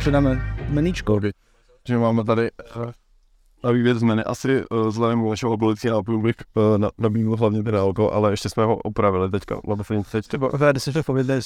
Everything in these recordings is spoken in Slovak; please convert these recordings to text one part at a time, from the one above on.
předáme meníčko. Že máme tady na výběr z menu. Asi vzhledem k našeho oblicí nápojů bych nabídl hlavně ten alkohol, ale ještě jsme ho opravili teďka. Vede si to povědět,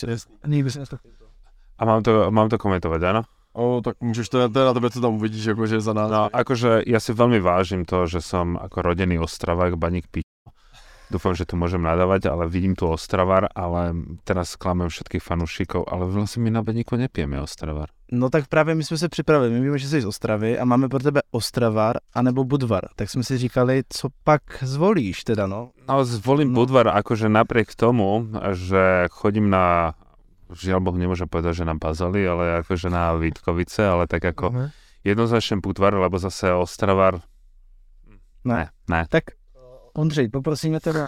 A mám to komentovať, áno? Tak můžeš to na tebe, co tam uvidíš, jakože za nás. No, akože ja si veľmi vážim to, že som ako rodený Ostravák, baník pičo. Dúfam, že tu môžem nadávať, ale vidím tu Ostravar, ale teraz klamem všetkých fanúšikov, ale vlastne my na baníku nepijeme Ostravar. No tak právě my jsme se připravili, my víme, že jsi z Ostravy a máme pro tebe Ostravar anebo Budvar, tak jsme si říkali, co pak zvolíš teda, no? No, zvolím Budvar, akože napriek tomu, že chodím na, žiaľ Boh nemôžem povedať, že na Bazaly, ale akože na Vítkovice, ale tak ako jednoznačne Budvar, lebo zase Ostravar, ne. Tak Ondřej, poprosíme teda.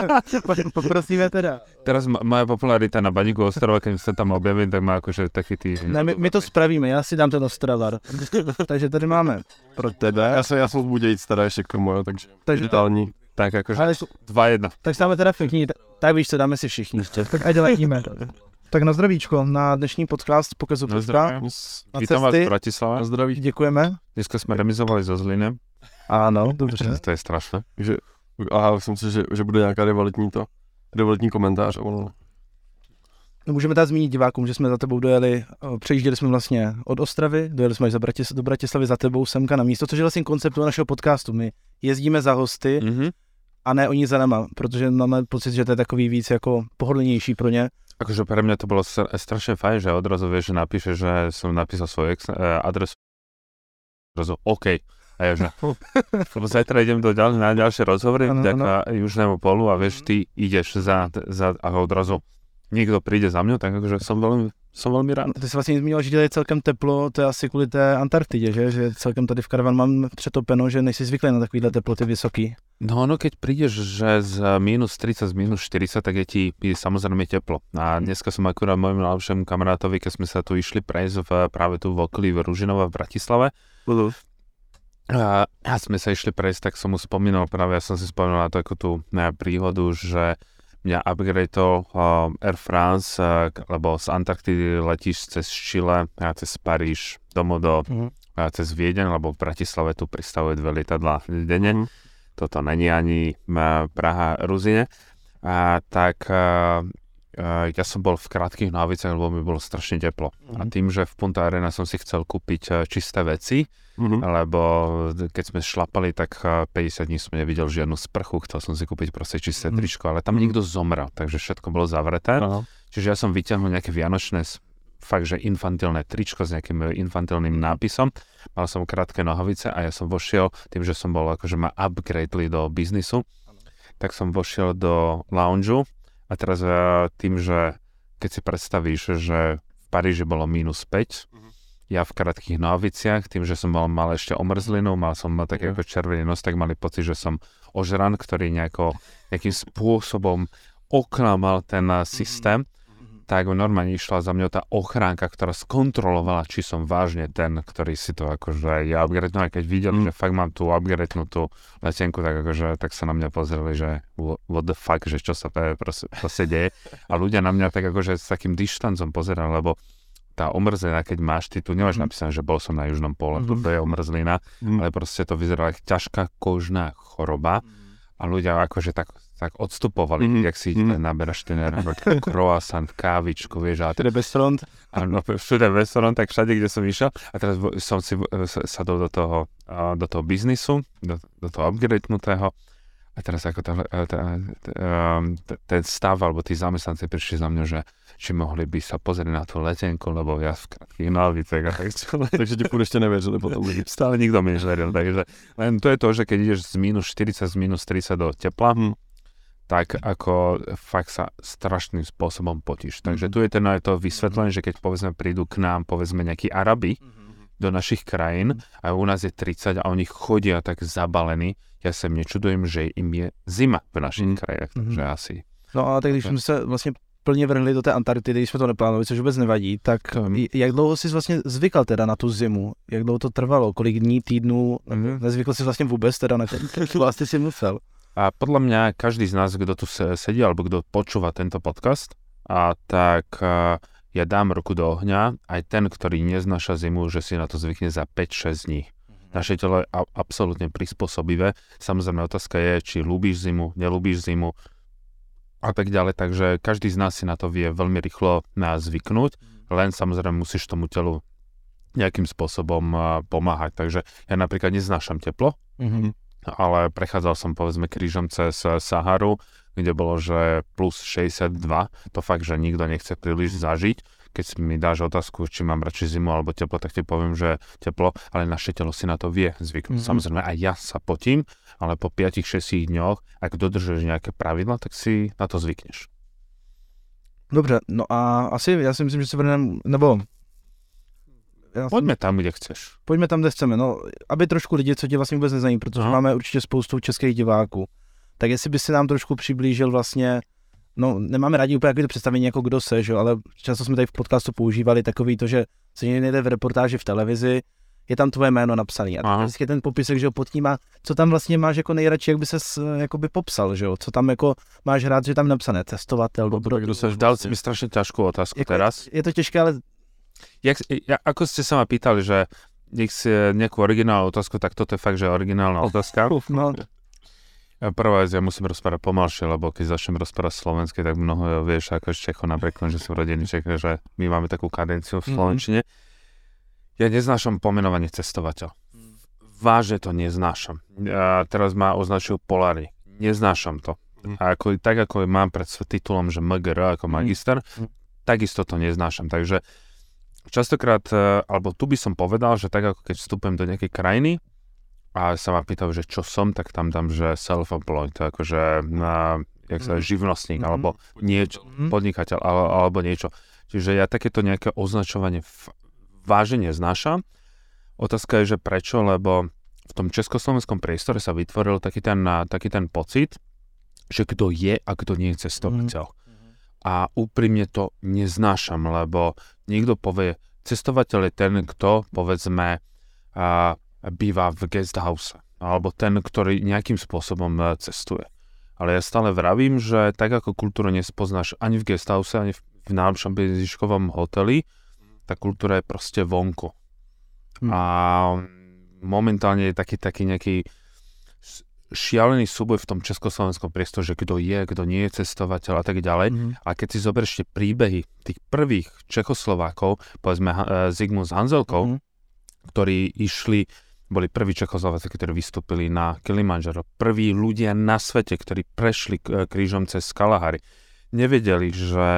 Teraz moja popularita na baníku Ostrava, keď sa tam objavím, tak má akože taký tý... Ne, my to spravíme, já si dám ten Ostravar. Takže tady máme pro tebe. Já jsem z Budějic teda ještě k tomu, takže detailní. Tak akože 2-1. Tak stáme teda všichni, tak víš co, dáme si všichni. Tak ať ledíme. Tak na zdravíčko, na dnešní podcast Pokazu Pecka. Vítam vás v Bratislave. Na zdraví. Děkujeme. Dneska jsme remizovali so Zlínem. Ano, dobře. To je strašné. Aha, myslím si, že bude nějaká rivaltní komentář. No, můžeme tady zmínit divákům, že jsme za tebou dojeli, přejížděli jsme vlastně od Ostravy, dojeli jsme až do Bratislavy za tebou semka na místo, což je vlastně konceptu našeho podcastu. My jezdíme za hosty a ne oni za náma, protože máme pocit, že to je takový víc jako pohodlnější pro ně. Akože pre mňa to bolo strašne fajn, že odrazu vieš, že napíše, že som napísal svoju adresu. Odrazu, OK. A ja že, lebo zajtra idem na ďalšie rozhovory vďaka Južnému polu a vieš, ty ideš za a odrazu niekto príde za mňou, tak akože som veľmi rád. Ty jsi vlastně zmínil, že je celkem teplo, to je asi kvůli té Antarktidě, že celkem tady v Karavan mám přetopeno, že nejsi zvyklý na takovýhle teploty vysoký. No, keď prídeš, že z minus 30, z minus 40, tak je ti samozrejme teplo. A dneska som akurát môjmu najlepšiemu kamarátovi, keď sme sa tu išli prejsť práve tu v okolí Ružinova v Bratislave. A sme sa išli prejsť, tak som mu spomínal, práve ja som si spomínal na takú tú príhodu, že mňa upgradeol Air France, lebo z Antarktidy letíš cez Chile, cez Paríž, domov cez Viedeň, lebo v Bratislave tu pristavuje 2 lietadlá denne. Toto není ani Praha, Ruzine. Tak ja som bol v krátkych nohavicách, lebo mi bolo strašne teplo. A tým, že v Punta Arena som si chcel kúpiť čisté veci, lebo keď sme šlapali, tak 50 dní som nevidel žiadnu sprchu, chcel som si kúpiť proste čisté tričko, ale tam nikto zomrel, takže všetko bolo zavreté. Čiže ja som vyťahol nejaké vianočné, fakt, že infantilné tričko s nejakým infantilným nápisom. Mal som krátke nohavice a ja som vošiel, tým, že som bol akože ma upgradeli do biznisu, tak som vošiel do loungeu a teraz tým, že keď si predstavíš, že v Paríži bolo minus 5, ja v krátkych nohaviciach, tým, že som mal ešte omrzlinu, mal som taký ako červený nos, tak mali pocit, že som ožran, ktorý nejakým spôsobom oklamal ten systém. Tak normálne išla za mňou tá ochránka, ktorá skontrolovala, či som vážne ten, ktorý si to akože ja upgradenul. A keď videli, že fakt mám tú upgradenutú letenku, tak akože tak sa na mňa pozreli, že what the fuck, že čo sa proste deje. A ľudia na mňa tak akože s takým dištancom pozerali, lebo tá omrzlina, keď máš, ty tu nemáš napísané, že bol som na južnom pole, to je omrzlina, ale proste to vyzeralo ako ťažká kožná choroba a ľudia akože tak odstupovali, jak si naberaš ten croissant, kávičku, vieš. Všude bez front. Áno, všude bez front, tak všade, kde som išiel. A teraz som si sadol do toho biznisu, do toho upgradenutého. A teraz ako ten stav, alebo tí zamestnanci prišli za mňa, že či mohli by sa pozrieť na tú letenku, lebo ja v krátkých nohavicách a tak ďalej. Takže ti půjde ešte neverili potom. Stále nikto mi neveril, takže len to je to, že keď ideš z minus 40, z minus 30 do tepla, tak ako fakt sa strašným spôsobom potíš. Takže tu je to vysvetlené, že keď povedzme prídu k nám, povedzme nejakí Arabi do našich krajín a u nás je 30 a oni chodia tak zabalení, ja sa nečudujem, že im je zima v našich krajinách, takže asi. No a tak když jsme se vlastně plně vrhli do té Antarktidy, když jsme to neplánovali, což vůbec nevadí, tak jak dlouho jsi vlastně zvykal teda na tu zimu? Jak dlouho to trvalo? Kolik dní, týdnů? Nezvykl jsi vlastně vůbec teda na to vlastně si musel? A podľa mňa každý z nás, kto tu sedí alebo kto počúva tento podcast, tak ja dám ruku do ohňa, aj ten, ktorý neznáša zimu, že si na to zvykne za 5-6 dní. Naše telo je absolútne prispôsobivé. Samozrejme, otázka je, či ľúbiš zimu, nelúbiš zimu a tak ďalej. Takže každý z nás si na to vie veľmi rýchlo zvyknúť, len samozrejme musíš tomu telu nejakým spôsobom pomáhať. Takže ja napríklad neznášam teplo, ale prechádzal som povedzme krížom cez Saharu, kde bolo, že plus 62. To fakt, že nikto nechce príliš zažiť. Keď mi dáš otázku, či mám radšej zimu alebo teplo, tak ti poviem, že teplo, ale naše telo si na to vie zvyknúť. Samozrejme, aj ja sa potím, ale po 5-6 dňoch, ak dodržuješ nejaké pravidla, tak si na to zvykneš. Dobře, no a asi já si myslím, že se vrneme, nebo... Pojďme tam, kde chceš. Pojďme tam, kde chceme, no, aby trošku lidi, co tě vlastně vůbec nezajímají, protože máme určitě spoustu českých diváků, tak jestli by si nám trošku přiblížil vlastně, no, nemáme rádi úplně to představení, jako kdo seš, ale často jsme tady v podcastu používali takový to, že se někde v reportáži v televizi, je tam tvoje jméno napsané. A vždycky ten popisek, že jo, pod tím má, co tam vlastně máš jako nejradši, jak by ses jakoby popsal, že jo, co tam jako máš rád, že tam napsané, cestovatel, kdo seš, dal si mi strašne ťažkú otázku jako, teraz. Je to těžké, ale... Ako ste sa ma pýtali, že nech si nejakú originálnu otázku, tak toto je fakt, že originálna otázka. No. Prvá vec, ja musím rozprávať pomalšie, lebo keď začnem rozprávať slovenské, tak mnoho vieš, ako z Čecho napríklad, že sú rodení Čech, že my máme takú kadenciu v slovenčine. Ja neznášam pomenovanie cestovateľ. Vážne to neznášam. Teraz ma označujú Polári. Neznášam to. A tak ako mám pred titulom, že MGR ako magister, takisto to neznášam. Takže častokrát, alebo tu by som povedal, že tak ako keď vstupujem do nejakej krajiny a sa ma pýtajú, že čo som, tak tam dám, že self-employed, akože jak sa živnostník, alebo niečo, podnikateľ, alebo niečo. Čiže ja takéto nejaké označovanie vážne neznášam. Otázka je, že prečo, lebo v tom československom priestore sa vytvoril taký ten pocit, že kto je a kto nie je cestovateľ. A úprimne to neznášam, lebo niekto povie, cestovateľ je ten, kto, povedzme, býva v guest house, alebo ten, ktorý nejakým spôsobom cestuje. Ale ja stále vravím, že tak ako kultúru nespoznáš ani v guest house, ani v najlepšom bezziškovom hoteli, tá kultúra je proste vonku. A momentálne je taký nejaký šialený súboj v tom československom priestore, že kto je, kto nie je cestovateľ a tak ďalej. A keď si zoberieš tie príbehy tých prvých Čechoslovákov, povedzme Zigmund s Hanzelkou, ktorí boli prví Čechoslováci, ktorí vystúpili na Kilimanjaro, prví ľudia na svete, ktorí prešli krížom cez Kalahary, nevedeli,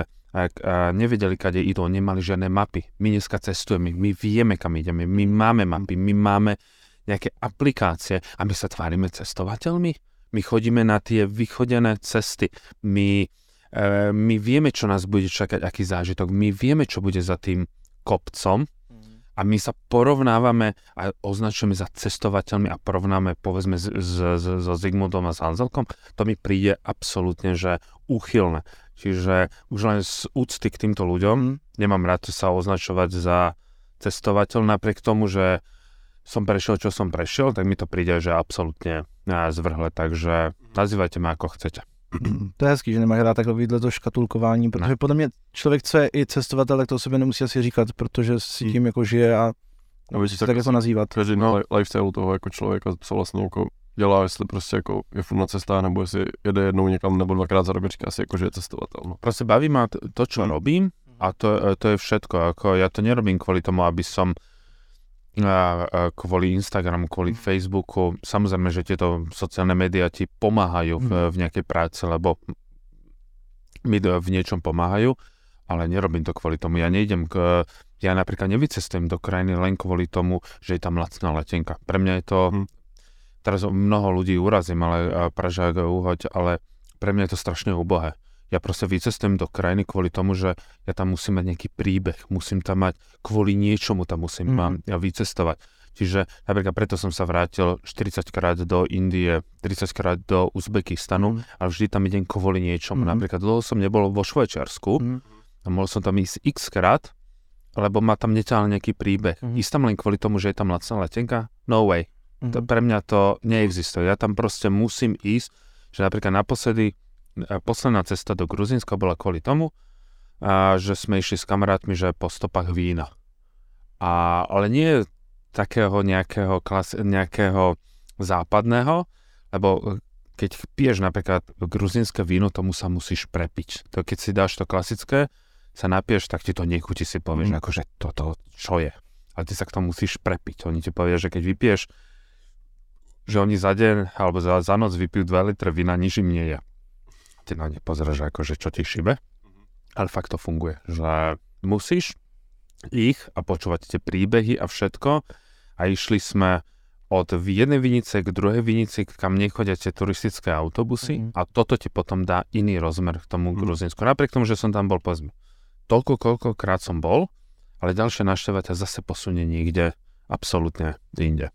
kade idú, nemali žiadne mapy. My dneska cestujeme, my vieme, kam ideme, my máme mapy, my máme nejaké aplikácie a my sa tvárime cestovateľmi. My chodíme na tie vychodené cesty. My vieme, čo nás bude čakať, aký zážitok. My vieme, čo bude za tým kopcom a my sa porovnávame a označujeme za cestovateľmi a porovnáme, povedzme, so Zigmundom a s Hanzelkom. To mi príde absolútne, že úchylné. Čiže už len z úcty k týmto ľuďom nemám rád sa označovať za cestovateľ, napriek tomu, že som prešiel, čo som prešiel, tak mi to príde, že absolútne zvrhle, takže nazývajte ma ako chcete. To je hezký, že nemáš rád takovýhle to škatulkování, protože podle mě člověk, co je i cestovatel, tak to o sobě nemusí asi říkat, protože si tím jako žije a tak jako nazývat. Každý lifestyle toho jako člověka, co vlastně jako dělá, jestli prostě jako je furt na cestách, nebo jestli jede jednou někam nebo dvakrát za rok, říká si jako, že je cestovatel. No. Proste baví ma to, čo robím a to je všetko. Ako ja to nerobím kvôli tomu, aby som kvôli Instagramu, kvôli Facebooku. Samozrejme, že tieto sociálne médiá ti pomáhajú v nejakej práci, lebo mi v niečom pomáhajú, ale nerobím to kvôli tomu. Ja napríklad nevycestujem do krajiny len kvôli tomu, že je tam lacná letenka. Pre mňa je to, teraz mnoho ľudí urazím, ale Pražák uhoď, ale pre mňa je to strašne ubohé. Ja proste vycestujem do krajiny kvôli tomu, že ja tam musím mať nejaký príbeh, musím tam mať, kvôli niečomu tam musím vycestovať. Čiže napríklad preto som sa vrátil 40 krát do Indie, 30 krát do Uzbekistanu, ale vždy tam idem kvôli niečomu. Napríklad dlho som nebol vo Švajčiarsku a mohol som tam ísť x krát, lebo ma tam neťahal nejaký príbeh. Ísť tam len kvôli tomu, že je tam lacná letenka? No way. Pre mňa to neexistuje. Ja tam proste musím ísť, že napríklad naposledy posledná cesta do Gruzínska bola kvôli tomu, že sme išli s kamarátmi, že po stopách vína. Ale nie takého nejakého západného, lebo keď piješ napríklad gruzínske víno, tomu sa musíš prepiť. To keď si dáš to klasické, sa napiješ, tak ti to nechutí, si povieš, akože toto čo je. Ale ty sa k tomu musíš prepiť. Oni ti povedia, že keď vypiješ, že oni za deň alebo za noc vypijú 2 litre vína, nič im nie je. Ty na ne pozeráš, akože čo ti šibe. Ale fakt to funguje, že musíš ich a počúvať tie príbehy a všetko. A išli sme od jednej vinice k druhej vinici, kam nechodia tie turistické autobusy a toto ti potom dá iný rozmer k tomu Gruzínsku. Napriek tomu, že som tam bol, povedzme, koľkokrát som bol, ale ďalšie návšteva ťa zase posunie niekde absolútne inde.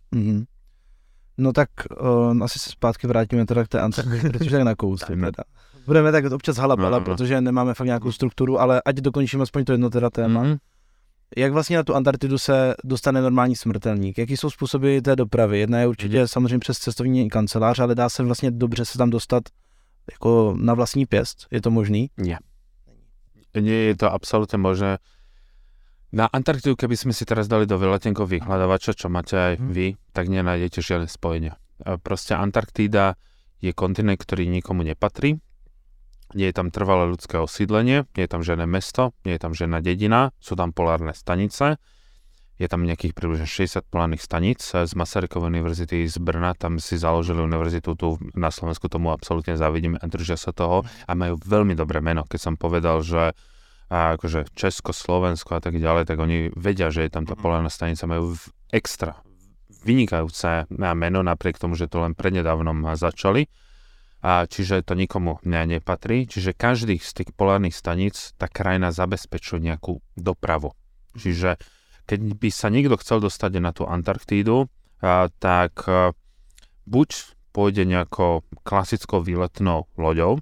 No tak asi se zpátky vrátíme teda k té Antarktidě, protože tak nakousli. Budeme tak občas halabala, protože nemáme fakt nějakou strukturu, ale ať dokončíme aspoň to jedno teda téma. Jak vlastně na tu Antarktidu se dostane normální smrtelník? Jaký jsou způsoby té dopravy? Jedna je určitě samozřejmě přes cestovní kancelář, ale dá se vlastně dobře se tam dostat jako na vlastní pěst? Je to možný? Nie. Nie je to absolútne možné. Na Antarktidu, keby sme si teraz dali do vyletenkov vyhľadávača, čo máte aj vy, tak nenájdete žiadne spojenia. Proste Antarktída je kontinent, ktorý nikomu nepatrí. Nie je tam trvalé ľudské osídlenie, nie je tam žiadne mesto, nie je tam žiadna dedina, sú tam polárne stanice. Je tam nejakých približne 60 polárnych staníc. Z Masarykovej univerzity z Brna, tam si založili univerzitu, tu na Slovensku tomu absolútne závidíme a držia sa toho a majú veľmi dobré meno. Keď som povedal, že akože Česko, Slovensko a tak ďalej, tak oni vedia, že je tam tá polárna stanica, majú extra vynikajúce meno, napriek tomu, že to len prednedávnom začali. Čiže to nikomu nepatrí. Čiže každý z tých polárnych staníc tá krajina zabezpečuje nejakú dopravu. Čiže keď by sa niekto chcel dostať na tú Antarktídu, tak buď pôjde nejakou klasickou výletnou loďou,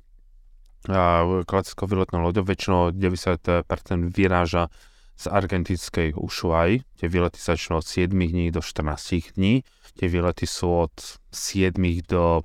väčšinou 90% vyráža z argentínskej Ushuaí. Tie výlety začnú od 7 dní do 14 dní. Tie výlety sú od 7 do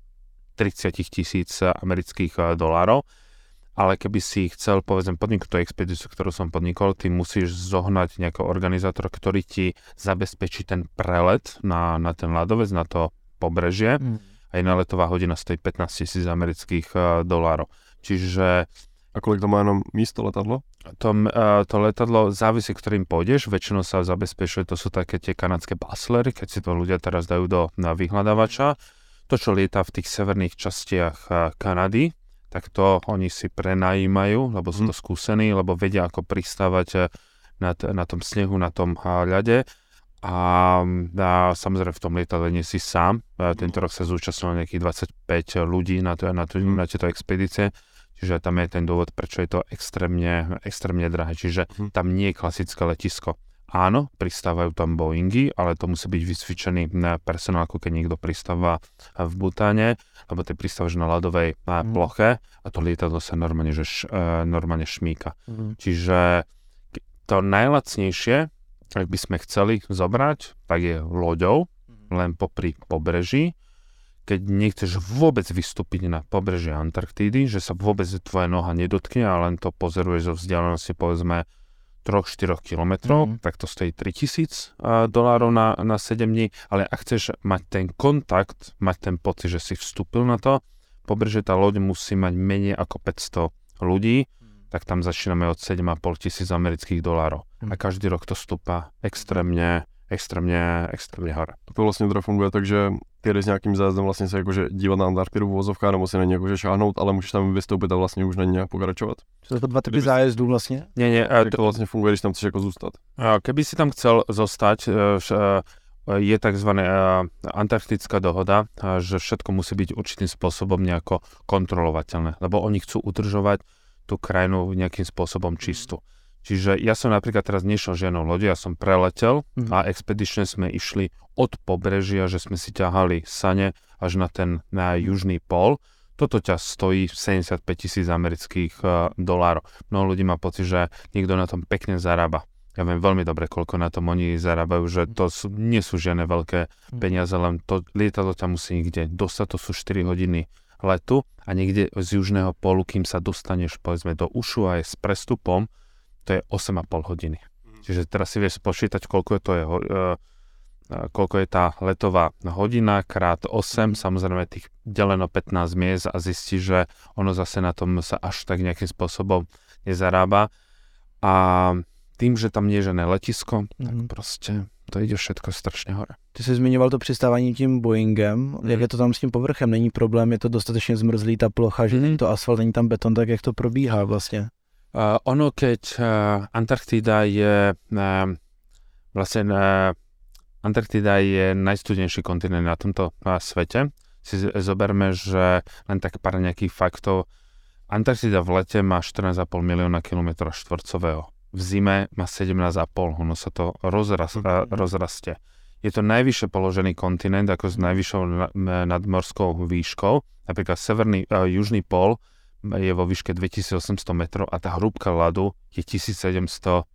30,000 amerických dolárov. Ale keby si chcel, povedzme, podniknúť tú expedíciu, ktorú som podnikol, ty musíš zohnať nejakého organizátora, ktorý ti zabezpečí ten prelet na ten ľadovec, na to pobrežie. A jedna letová hodina stojí 15,000 amerických dolárov. Čiže... A koľko to má jenom místo letadlo? To letadlo závisí, ktorým pôjdeš. Väčšinou sa zabezpečuje, to sú také tie kanadské baslery, keď si to ľudia teraz dajú na vyhľadávača. To, čo lieta v tých severných častiach Kanady, tak to oni si prenajímajú, lebo sú to skúsení, lebo vedia, ako pristávať na tom snehu, na tom ľade. A samozrejme v tom lietadle nie si sám. Tento rok sa zúčastnilo nejakých 25 ľudí na tieto expedície. Čiže tam je ten dôvod, prečo je to extrémne drahé. Čiže tam nie je klasické letisko. Áno, pristávajú tam Boeingy, ale to musí byť vysvičený personál, ako keď niekto pristáva v Butáne, lebo ty pristávaš na ľadovej ploche a to lietadlo sa normálne šmíka. Čiže to najlacnejšie, ak by sme chceli zobrať, tak je loďou, len popri pobreží. Keď nechceš vôbec vystúpiť na pobreží Antarktídy, že sa vôbec tvoja noha nedotkne a len to pozeruješ zo vzdialenosti, povedzme, 3-4 kilometrov, tak to stojí $3,000 na 7 dní, ale ak chceš mať ten kontakt, mať ten pocit, že si vstúpil na to, pobrežie tá loď musí mať menej ako 500 ľudí, tak tam začíname od $7,500 amerických dolárov. A každý rok to stúpa extrémne hore. To vlastně teda funguje tak, že ty jdeš s nějakým zájezdem vlastně se jakože dívat na Antarktidu v uvozovkách, nebo si na ně jakože šáhnout, ale můžeš tam vystoupit a vlastně už na ně nějak pokračovat. Jsou to dva typy zájezdů vlastně? Nie, to vlastně funguje, když tam chceš jako zůstat. Keby si tam chcel zostať, je tzv. Antarktická dohoda, že všetko musí byť určitým spôsobom nejako kontrolovateľné, lebo oni chcú udržovať tú krajinu nejakým spôsobom čistú. Čiže ja som napríklad teraz nešiel žiadnou lodi, ja som preletel a expedične sme išli od pobrežia, že sme si ťahali sane až na južný pól. Toto ťa stojí $75,000 amerických dolárov. Mnoho ľudí má pocit, že niekto na tom pekne zarába. Ja viem veľmi dobre, koľko na tom oni zarábajú, že to nie sú žiadne veľké peniaze, len to lietadlo ťa musí niekde dostať, to sú 4 hodiny letu a niekde z južného pólu, kým sa dostaneš povedzme do Ushuaie s prestupom, to je 8,5 hodiny. Čiže teraz si vieš spočítať, koľko je tá letová hodina krát 8, samozrejme tých deleno 15 miest a zistí, že ono zase na tom sa až tak nejakým spôsobom nezarába. A tým, že tam nie je žiadne letisko, tak proste to ide všetko strašně hore. Ty jsi zmiňoval to přistávání tím Boeingem, jak je to tam s tím povrchem, není problém, je to dostatečně zmrzlý ta plocha, že není to asfalt, není tam beton, tak jak to probíhá vlastně? Ono, keď Antarktida je Antarktida je najstudnejší kontinent na tomto svete. Si zoberme, že len tak pár nejakých faktov. Antarktida v lete má 14,5 milióna km štvorcového. V zime má 17,5, ono sa to rozrastie. Je to najvyššie položený kontinent, ako s najvyššou nadmorskou výškou. Napríklad južný pól je vo výške 2800 metrov a tá hrúbka ľadu je 1700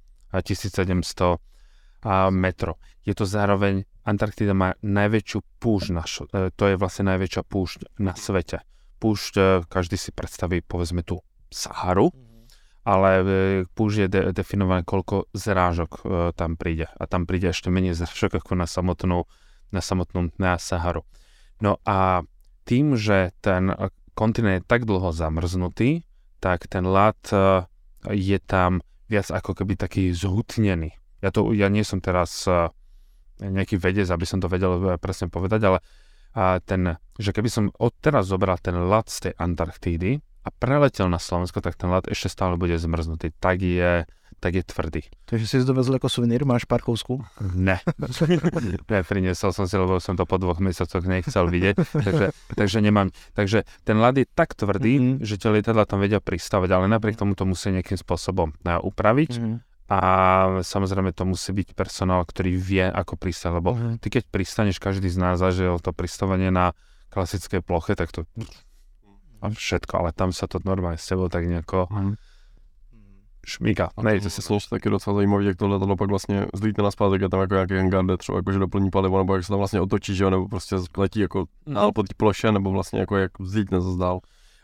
metrov. Je to zároveň, Antarktida má najväčšiu púšť, to je vlastne najväčšia púšť na svete. Púšť, každý si predstaví, povedzme tú Saharu, ale púšť je definované, koľko zrážok tam príde. A tam príde ešte menej zrážok ako na samotnú Saharu. No a tým, že ten kontinent je tak dlho zamrznutý, tak ten ľad je tam viac ako keby taký zhutnený. Ja nie som teraz nejaký vedec, aby som to vedel presne povedať, ale že keby som odteraz zobral ten ľad z tej Antarktídy a preletel na Slovensko, tak ten ľad ešte stále bude zmrznutý. Tak je tvrdý. Takže si dovezl ako suvenír, máš pár kousků? Ne. Priniesol som si, lebo som to po 2 mesiacoch nechcel vidieť, takže nemám. Takže ten ľad je tak tvrdý, že tie lietadlá tam vedia pristávať, ale napriek tomu to musí nejakým spôsobom upraviť. A samozrejme to musí byť personál, ktorý vie, ako pristať, lebo ty keď pristaneš, každý z nás zažil to pristávanie na klasickej ploche, tak to a všetko, ale tam sa to normálne s tebou tak nejako šmíka. A to se slouží taky docela zajímavý, jak tohle pak vlastně zlítne naspátek, je tam jako nějaký hangar, třeba jakože doplní palivo, nebo jak se tam vlastně otočí, že jo, nebo prostě letí jako dál po té ploše, nebo vlastně jako jak zlítne zase dál.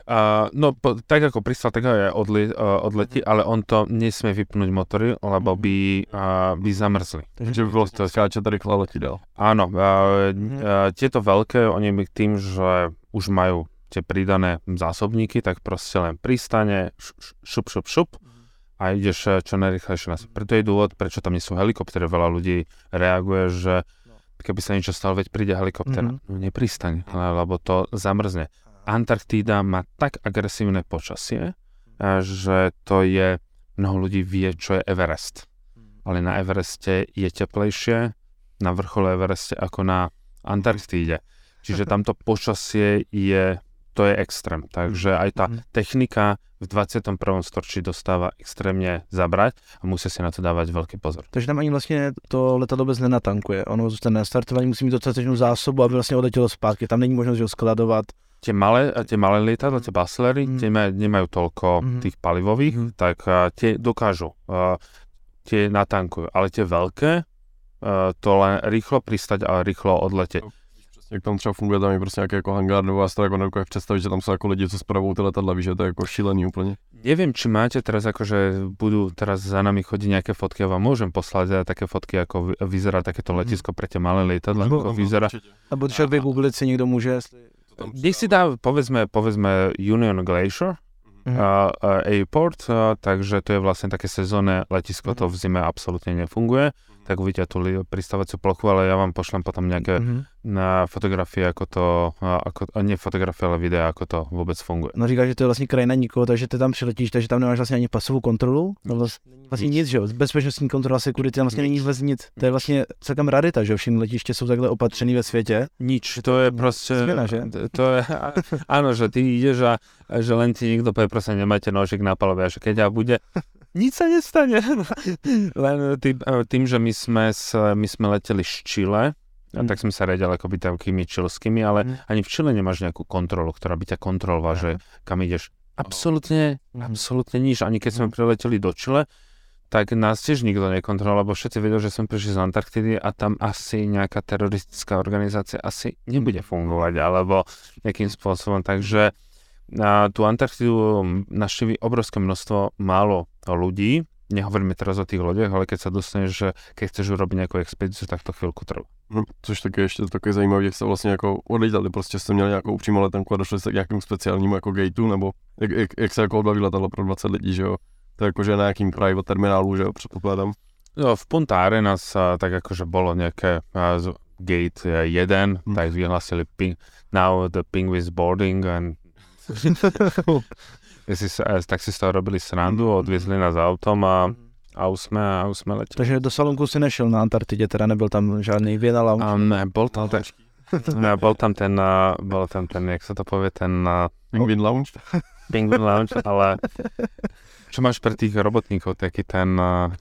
Tak ako pristal, tak aj odletí, ale on to nesmie vypnúť motory, lebo by zamrzli. Takže by bolo to skáče tady rýchlo letí dál. Áno, tieto veľké, oni tým, že už majú tie pridané zásobníky, tak proste len pristane, šup a ideš čo najrýchlejšie na Preto je dôvod, prečo tam nie sú helikoptery. Veľa ľudí reaguje, že keby sa niečo stalo, veď príde helikopter. No nepristaň, lebo to zamrzne. Antarktída má tak agresívne počasie, že to je, mnoho ľudí vie, čo je Everest. Ale na Evereste je teplejšie, na vrchole Evereste ako na Antarktíde. Čiže tamto počasie to je extrém. Takže aj tá technika v 21. storočí dostáva extrémne zabrať a musí si na to dávať veľký pozor. Takže tam ani vlastně to letadlo bez nenatankuje. Ono zůstane na startování, musí mít dostatečnou zásobu, aby vlastně odletělo zpátky. Tam není možnosť ho skladovat. Tie malé lietadla, tie Bachellery, tie nemajú toľko tých palivových, tak tie dokážu, tie natankujú. Ale tie veľké, to len rýchlo pristať a rýchlo odletět. Jak tam třeba funguje, tam je prostě nějaký jako hangár, nebo já si to jako nedokážu představit, že tam jsou jako lidi, co spravují ty letadla, víš, že to je jako šílený úplně. Neviem, či máte teraz akože budú teraz za nami chodiť nejaké fotky, ja vám môžem poslať také fotky, ako vyzerá takéto letisko pre tie malé lietadla, ako vyzerá. Alebo však vygooglit si niekto môže. Nech si dá, povedzme Union Glacier Airport, takže to je vlastne také sezónne letisko, to v zime absolútne nefunguje, tak uvidíte tú pristávaciu plochu, ale ja vám pošlem potom nejaké fotografie, ako to, nie fotografie, ale videa, ako to vôbec funguje. No říkáš, že to je vlastně krajina nikoho, takže ty tam přiletíš, takže tam nemáš vlastně ani pasovou kontrolu, no vlastně nic, že jo, bezpečnostní kontrola, security, tam vlastně není vůbec nic, to je vlastně celkem rarita, že jo, všechny letiště jsou takhle opatřený ve světě. Nič, to je proste, změna, že? To je, áno, že ty ideš a že len ti niekto povie, proste nemáte nožik na palube, a že keď ja bude, nič sa nestane. Len tým, že my sme leteli z Chile, tak sme sa riadili akoby takými čilskými, ale ani v Chile nemáš nejakú kontrolu, ktorá by ťa kontrolovala, že kam ideš. Absolútne nič. Ani keď sme prileteli do Chile, tak nás tiež nikto nekontroloval, lebo všetci vedeli, že sme prišli z Antarktidy a tam asi nejaká teroristická organizácia asi nebude fungovať, alebo nejakým spôsobom. Takže tú Antarktidu navštíví obrovské množstvo málo ľudí. Nehovoríme teraz o tých loďach, ale keď sa dostaneš, že keď chceš urobiť nejakú expedíciu, tak to chvíľku trvá. Což taky ještě také zajímavé, že jste vlastně jako odlítali, prostě jste měli nějakou přímou letenku a došli jste k nějakému speciálnímu jako gateu, nebo jak se jako odbaví letadlo pro 20 lidí, že jo? To je jakože na nějakým private terminálu, že jo, předpokládám. No, v Punta Arenas tak akože bolo nejaké gate 1, tak vyhlásili now the penguins boarding and tak si z toho robili srandu, odviezli nás autom a už sme leteli. Takže do salonku si nešel na Antarktidě, teda nebyl tam žádný Vienna Lounge? Ne, bol tam ten, jak sa to povie, ten... Penguin Lounge? Penguin Lounge, ale čo máš pre tých robotníkov, taký ten...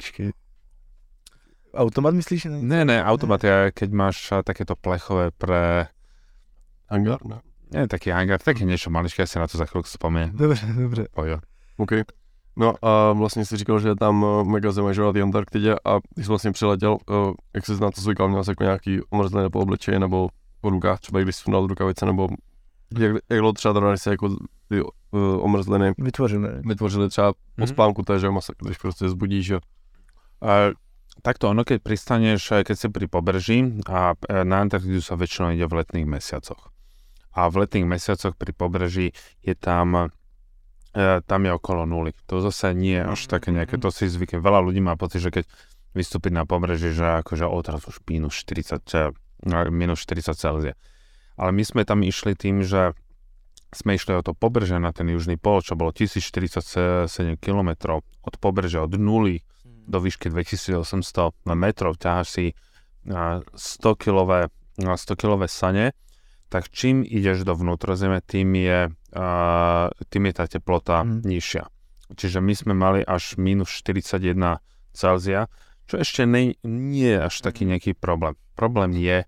Automat myslíš? Ne, automat je, keď máš takéto plechové pre... Hangar, ne? Nie, taký hangar, také niečo maličké, ja si na to za chvíľku spomeniem. Dobře. Pojo. OK. No a vlastně jsi říkal, že je tam mega zima, že na té Antarktidě a když jsi vlastně přiletěl, jak jsi na to zvykal, měl jsi jako nějaký omrzlené po obličeji nebo po rukách, třeba když jsi sundal do rukavice, nebo jak dlouho třeba trvá, se jako ty omrzliny vytvořili třeba po spánku, to je, že když prostě zbudíš, že... Takto ono, keď pristaneš, keď si pri pobreží a na Antarktidu sa väčšinou ide v letných mesiacoch. A v letných mesiacoch pri pobreží je tam je okolo nuly. To zase nie je až také nejaké, to si zvykne. Veľa ľudí má pocit, že keď vystúpiť na pobreží, že akože odrazu už minus 40 Celzia. Ale my sme tam išli tým, že sme išli od to pobrežia na ten južný pol, čo bolo 1047 km od pobrežia, od nuly do výšky 2800 metrov, ťaháš si 100-kilové sane, tak čím ideš do vnútrozemia, tým je tá teplota nižšia. Čiže my sme mali až minus 41 Celzia, čo ešte nie je až taký nejaký problém. Problém je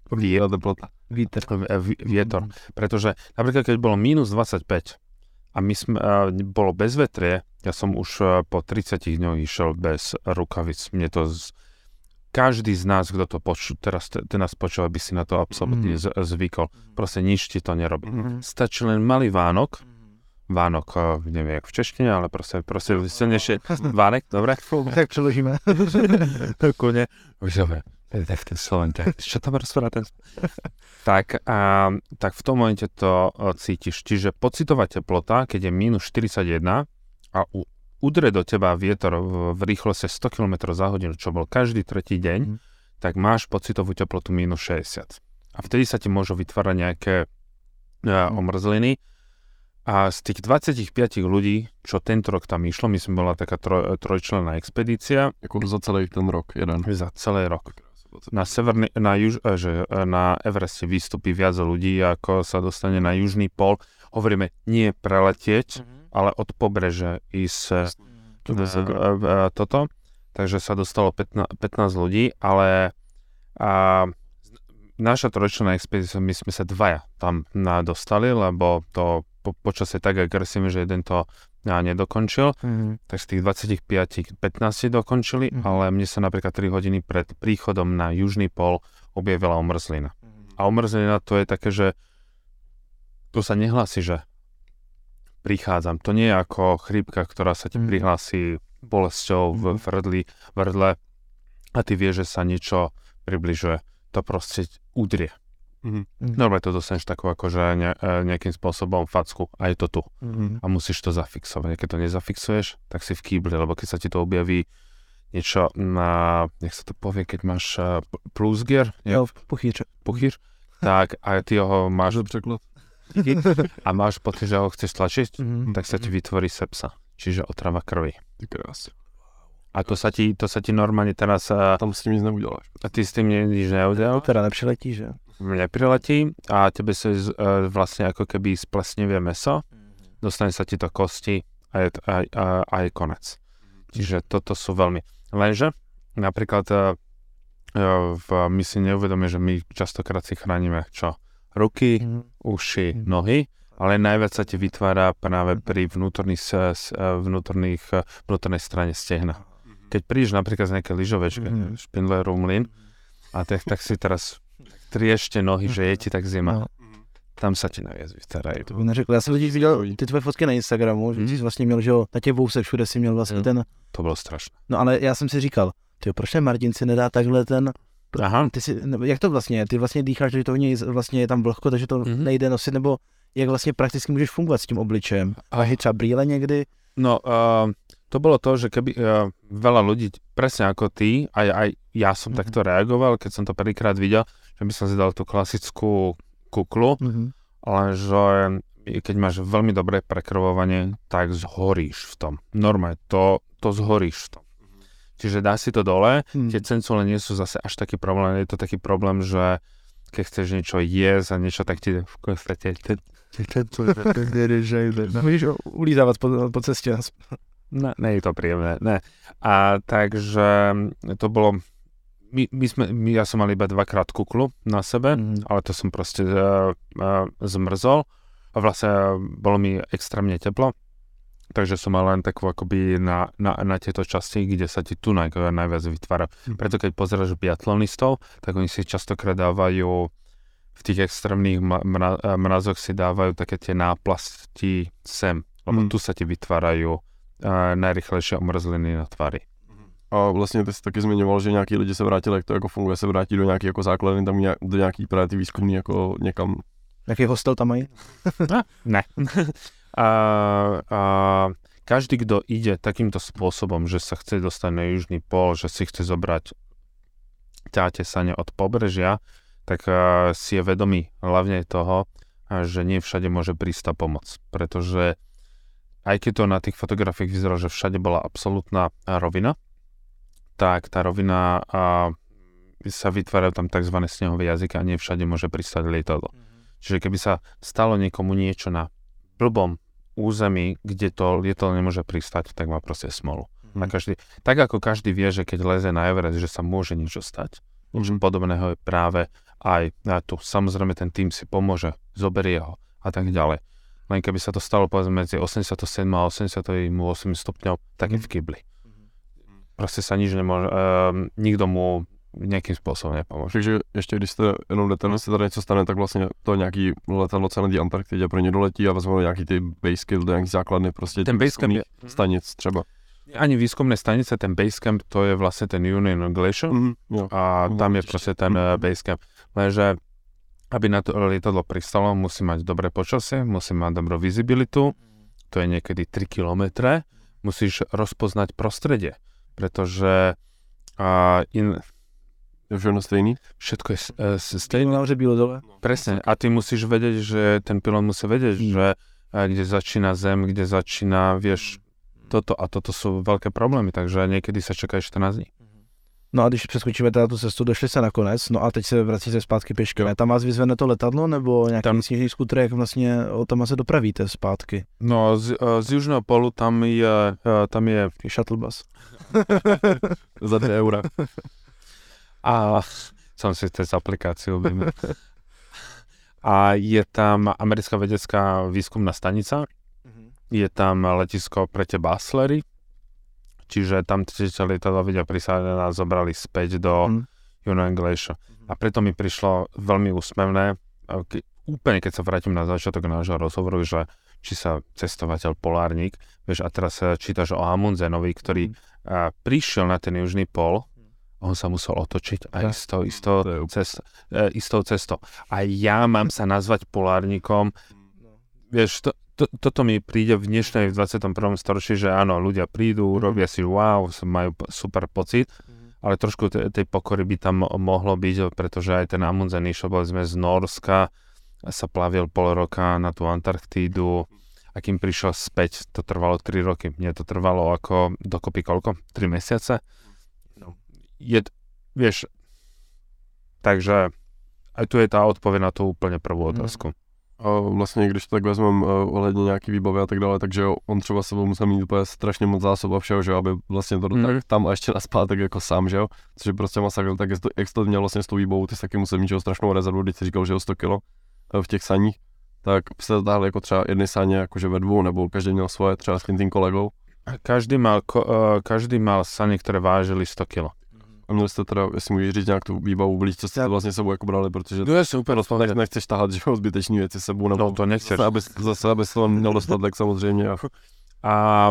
vietor. Pretože napríklad, keď bolo minus 25 a bolo bezvetrie, ja som už po 30 dňoch išiel bez rukavic. Mne to každý z nás, kto to teraz nás počúva, by si na to absolútne zvykol. Proste nič ti to nerobí. Stačí len malý Vánok, neviem jak v češtine, ale proste silnejšie Vánek, dobre? Tak přeložíme. Kone. Už dobre. Čo tam rozpráva ten? Tak v tom momente to cítiš. Čiže pocitová teplota, keď je minus 41 a udre do teba vietor v rýchlosti 100 km za hodinu, čo bol každý tretí deň, tak máš pocitovú teplotu minus 60. A vtedy sa ti môžu vytvárať nejaké omrzliny. A z tých 25 ľudí, čo tento rok tam išlo, myslím, bola taká trojčlenná expedícia. Jako za celý ten rok, jeden. Za celý rok. Na Evereste vystupí viac ľudí, ako sa dostane na južný pol. Hovoríme, nie preletieť, ale od pobreže ísť toto. Takže sa dostalo 15 ľudí, ale naša trojčlenná expedícia, my sme sa dvaja tam dostali, lebo to počasie tak agresívne, že jeden to nedokončil. Tak z tých 25 15 dokončili, ale mne sa napríklad 3 hodiny pred príchodom na južný pol objavila omrzlina. A omrzlina to je také, že to sa nehlási, že prichádzam. To nie je ako chrípka, ktorá sa ti prihlási bolesťou v vrdle a ty vieš, že sa niečo približuje. To proste udrie. Normálne to dostaneš takú akože nejakým spôsobom facku a je to tu. A musíš to zafixovať. Keď to nezafixuješ, tak si v kýbli, lebo keď sa ti to objaví niečo na, jak sa to povie, keď máš plusgier, puchýr, tak a ty ho máš preklad a máš pocit, že ho chceš tlačiť, tak sa ti vytvorí sepsa, čiže otrava krvi. A to sa ti normálne teraz... Tam s tým nic neuděláš. A ty s tým nič neuděláš? Teda nepřiletí, že? Nepriletí a tebe sa vlastne ako keby splesnivie mäso, dostane sa ti to kosti a je konec. Čiže toto sú veľmi... Lenže napríklad my si neuvedomíme, že my častokrát si chránime čo? Ruky, uši, nohy, ale najviac sa ti vytvára práve pri vnútornej strane stehna. Keď prídeš napríklad z nejakej lyžovečky, Špindlerov mlyn, a tak si teraz triešte nohy, že je ti tak zima. Tam sa ti navíc vystaраjí. To bych neřekl. Já jsem totiž viděl ty tvoje fotky na Instagramu, že jsi vlastně měl, že jo, na těch vousech všude si měl vlastně ten... To bylo strašné. No ale já jsem si říkal, proč ten Martin si nedá takhle ten... Aha. Jak to vlastně je? Ty vlastně dýcháš, že to vlastně je tam vlhko, takže to nejde nosit, nebo jak vlastně prakticky můžeš fungovat s tím obličejem? A třeba brýle někdy? No, to bolo to, že keby veľa ľudí, presne ako ty, aj ja som takto reagoval, keď som to prvýkrát videl, že by som si dal tú klasickú kuklu, ale že keď máš veľmi dobré prekrvovanie, tak zhoríš v tom. Normálne, to zhoríš v tom. Čiže dá si to dole, tie cencule nie sú zase až taký problém, je to taký problém, že keď chceš niečo jesť a niečo, tak ti v podstate Můžeš ulízávat po cestě. Ne je to príjemné, ne. A takže to bolo, ja som mal iba 2-krát kuklu na sebe, ale to som proste zmrzol a vlastne bolo mi extrémne teplo, takže som mal len takú akoby na tieto časti, kde sa ti tu najviac vytvára. Preto keď pozeráš biatlonistov, tak oni si častokrát dávajú v tých extrémnych mrazoch si dávajú také tie náplasti sem, lebo tu sa ti vytvárajú najrychlejšie omrzliny na tváři. A vlastně ty jsi taky zmiňoval, že nějaký lidi se vrátili, jak to jako funguje, se vrátí do nějaký jako základny, tam do nějaký právě ty výzkumný jako někam. Jaký hostel tam mají? Ne. Každý, kdo ide takýmto spôsobom, že sa chce dostať na južný pól, že si chce zobrať ťatesanie od pobrežia, tak si je vedomý hlavne toho, že nie všade môže prísť tá pomoc. Pretože aj keď to na tých fotografiách vyzeralo, že všade bola absolútna rovina, tak tá rovina sa vytvárajú tam tzv. Snehové jazyky a nie všade môže pristať lietadlo. Čiže keby sa stalo niekomu niečo na blbom území, kde to lietadlo nemôže pristať, tak má proste smolu. Tak ako každý vie, že keď leze na Everest, že sa môže niečo stať. Niečo podobného je práve aj tu. Samozrejme ten tým si pomôže, zoberie ho a tak ďalej. Len keby sa to stalo povedzme medzi 87 a 88 stupňov, tak je v kybli. Proste sa nič nemôže, nikto mu nejakým spôsobom nepomôže. Takže ještě když jste jenom jdete, se tady něco stane, tak vlastně to nějaký letadlo celé té Antarktidě pro ně doletí a vezmou nějaký ty basecamp, do nějaký základny prostě ten basecamp je stanic třeba. Ani výskumné stanice, ten basecamp, to je vlastne ten Union Glacier a tam je proste ten basecamp. Lenže aby na to lietadlo pristalo, musí mať dobré počasie, musí mať dobrú visibilitu, to je niekedy 3 kilometre, musíš rozpoznať prostredie, pretože je všechno stejný? Všetko je stejné. Nahoře bylo dole. Presne, a ty musíš vedieť, že ten pilot musí vedieť, že kde začína zem, kde začína, vieš, toto a toto sú veľké problémy, takže niekedy sa čaká 14 dní. No a když přeskočíme teda tu cestu, došli se nakonec, no a teď se vracíte zpátky pěšky. Tam vás vyzvene to letadlo, nebo nějaký sněžný skútr, jak vlastně tam se dopravíte zpátky? No z Južného polu tam je shuttle bus. Za 2 eura. A som si cez aplikáciu objednal. A je tam americká vedecká výskumná stanica, je tam letisko pre tie Baslery, čiže tam lietadla vedia prisáť a nás zobrali späť do Union Glacier. A preto mi prišlo veľmi úsmevné, úplne keď sa vrátim na začiatok nášho rozhovoru, že či sa cestovateľ polárnik, vieš, a teraz čítaš o Amundsenovi, ktorý prišiel na ten južný pol, on sa musel otočiť aj istou cestou. A ja mám sa nazvať polárnikom, vieš, toto mi príde v dnešnej v 21. storočí, že áno, ľudia prídu, robia si wow, majú super pocit, ale trošku tej pokory by tam mohlo byť, pretože aj ten Amundsen išiel, boli sme z Norska, sa plavil pol roka na tú Antarktídu a kým prišiel späť, to trvalo 3 roky. Mne to trvalo ako dokopy koľko? 3 mesiace? Vieš, takže aj tu je tá odpoveď na tú úplne prvú otázku. A vlastně, když to tak vezmeme ohledně nějaký výbavy a tak dále, takže on třeba sebou musel mít úplně strašně moc zásob a všeho, že aby vlastně to tak tam a ještě naspátek jako sám, že jo, což je prostě masakr, tak jak to měl vlastně s tou výbavou, ty jsi taky musel mít strašnou rezervu, když jsi říkal, že jo 100 kilo v těch saních, tak se táhli jako třeba jedny sáně jakože ve 2, nebo každý měl svoje třeba s tím kolegou. Každý mal sany, ktoré vážili 100 kg. A měli jste teda, jestli můžeš říct nějak tu výbavu, byli co jste to vlastně sebou jako brali, protože No jasne, úplne nechceš tahat, že zbytečný věci sebou, nebo No to nechceš. Zase, aby to měl dostatek samozřejmě. A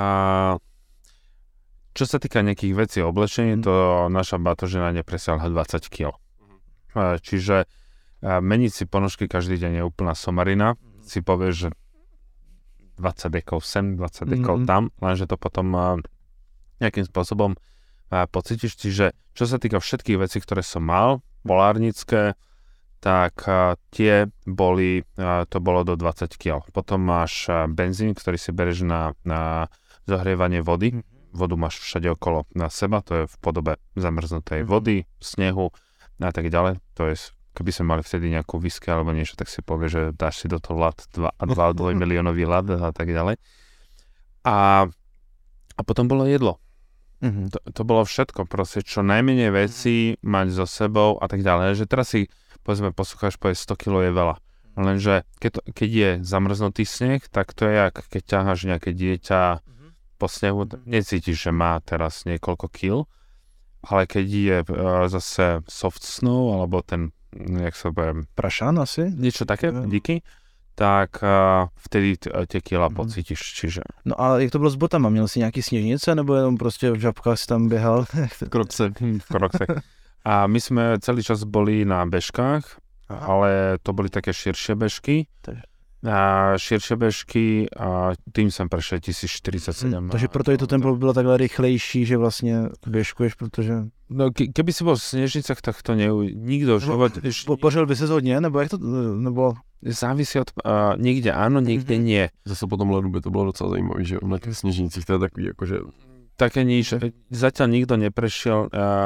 čo sa týka nejakých vecí oblečení, to naša batožina nepresiahla 20 kg. Čiže meniť si ponožky každý deň je úplná somarina. Si povieš, že 20 dekov sem, 20 dekov tam, lenže to potom nejakým spôsobom pocítiš. Čiže čo sa týka všetkých vecí, ktoré som mal, polárnické, tak tie boli, to bolo do 20 kg. Potom máš benzín, ktorý si bereš na zahrievanie vody. Vodu máš všade okolo na seba, to je v podobe zamrznutej vody, snehu a tak ďalej. To je, keby sme mali vtedy nejakú whisky alebo niečo, tak si povie, že dáš si do toho ľad 2 miliónový ľad a tak ďalej. A potom bolo jedlo. To bolo všetko, proste čo najmenej veci mať so sebou a tak ďalej. Že teraz si, povedzme, poslucháš, 100 kg je veľa. Lenže keď je zamrznutý sneh, tak to je jak keď ťaháš nejaké dieťa po snehu, necítiš, že má teraz niekoľko kil, ale keď je zase soft snow, alebo ten, jak sa poviem, prašan asi? Niečo také, díky, tak vtedy tie kila pocítiš, čiže... No a jak to bylo s botama? Měl jsi nějaký sněžnice, nebo jenom prostě v žabkách si tam běhal? Krokse. A my sme celý čas boli na bežkách, ale to boli také širšie bežky. A širšie bežky a tým som prešiel 1047. Takže proto je to tempo bylo takhle rychlejší, že vlastně běžkuješ, protože... No keby si bol v snežnicách, tak to nikto život... Pořel by ses hodně, nebo jak to... Nebo... Závisí od... niekde áno, niekde nie. Zase po tom ledu by to bylo docela zajímavé, že na těch sněžnicích to je takový jakože... Také nič. Zatiaľ nikto neprešiel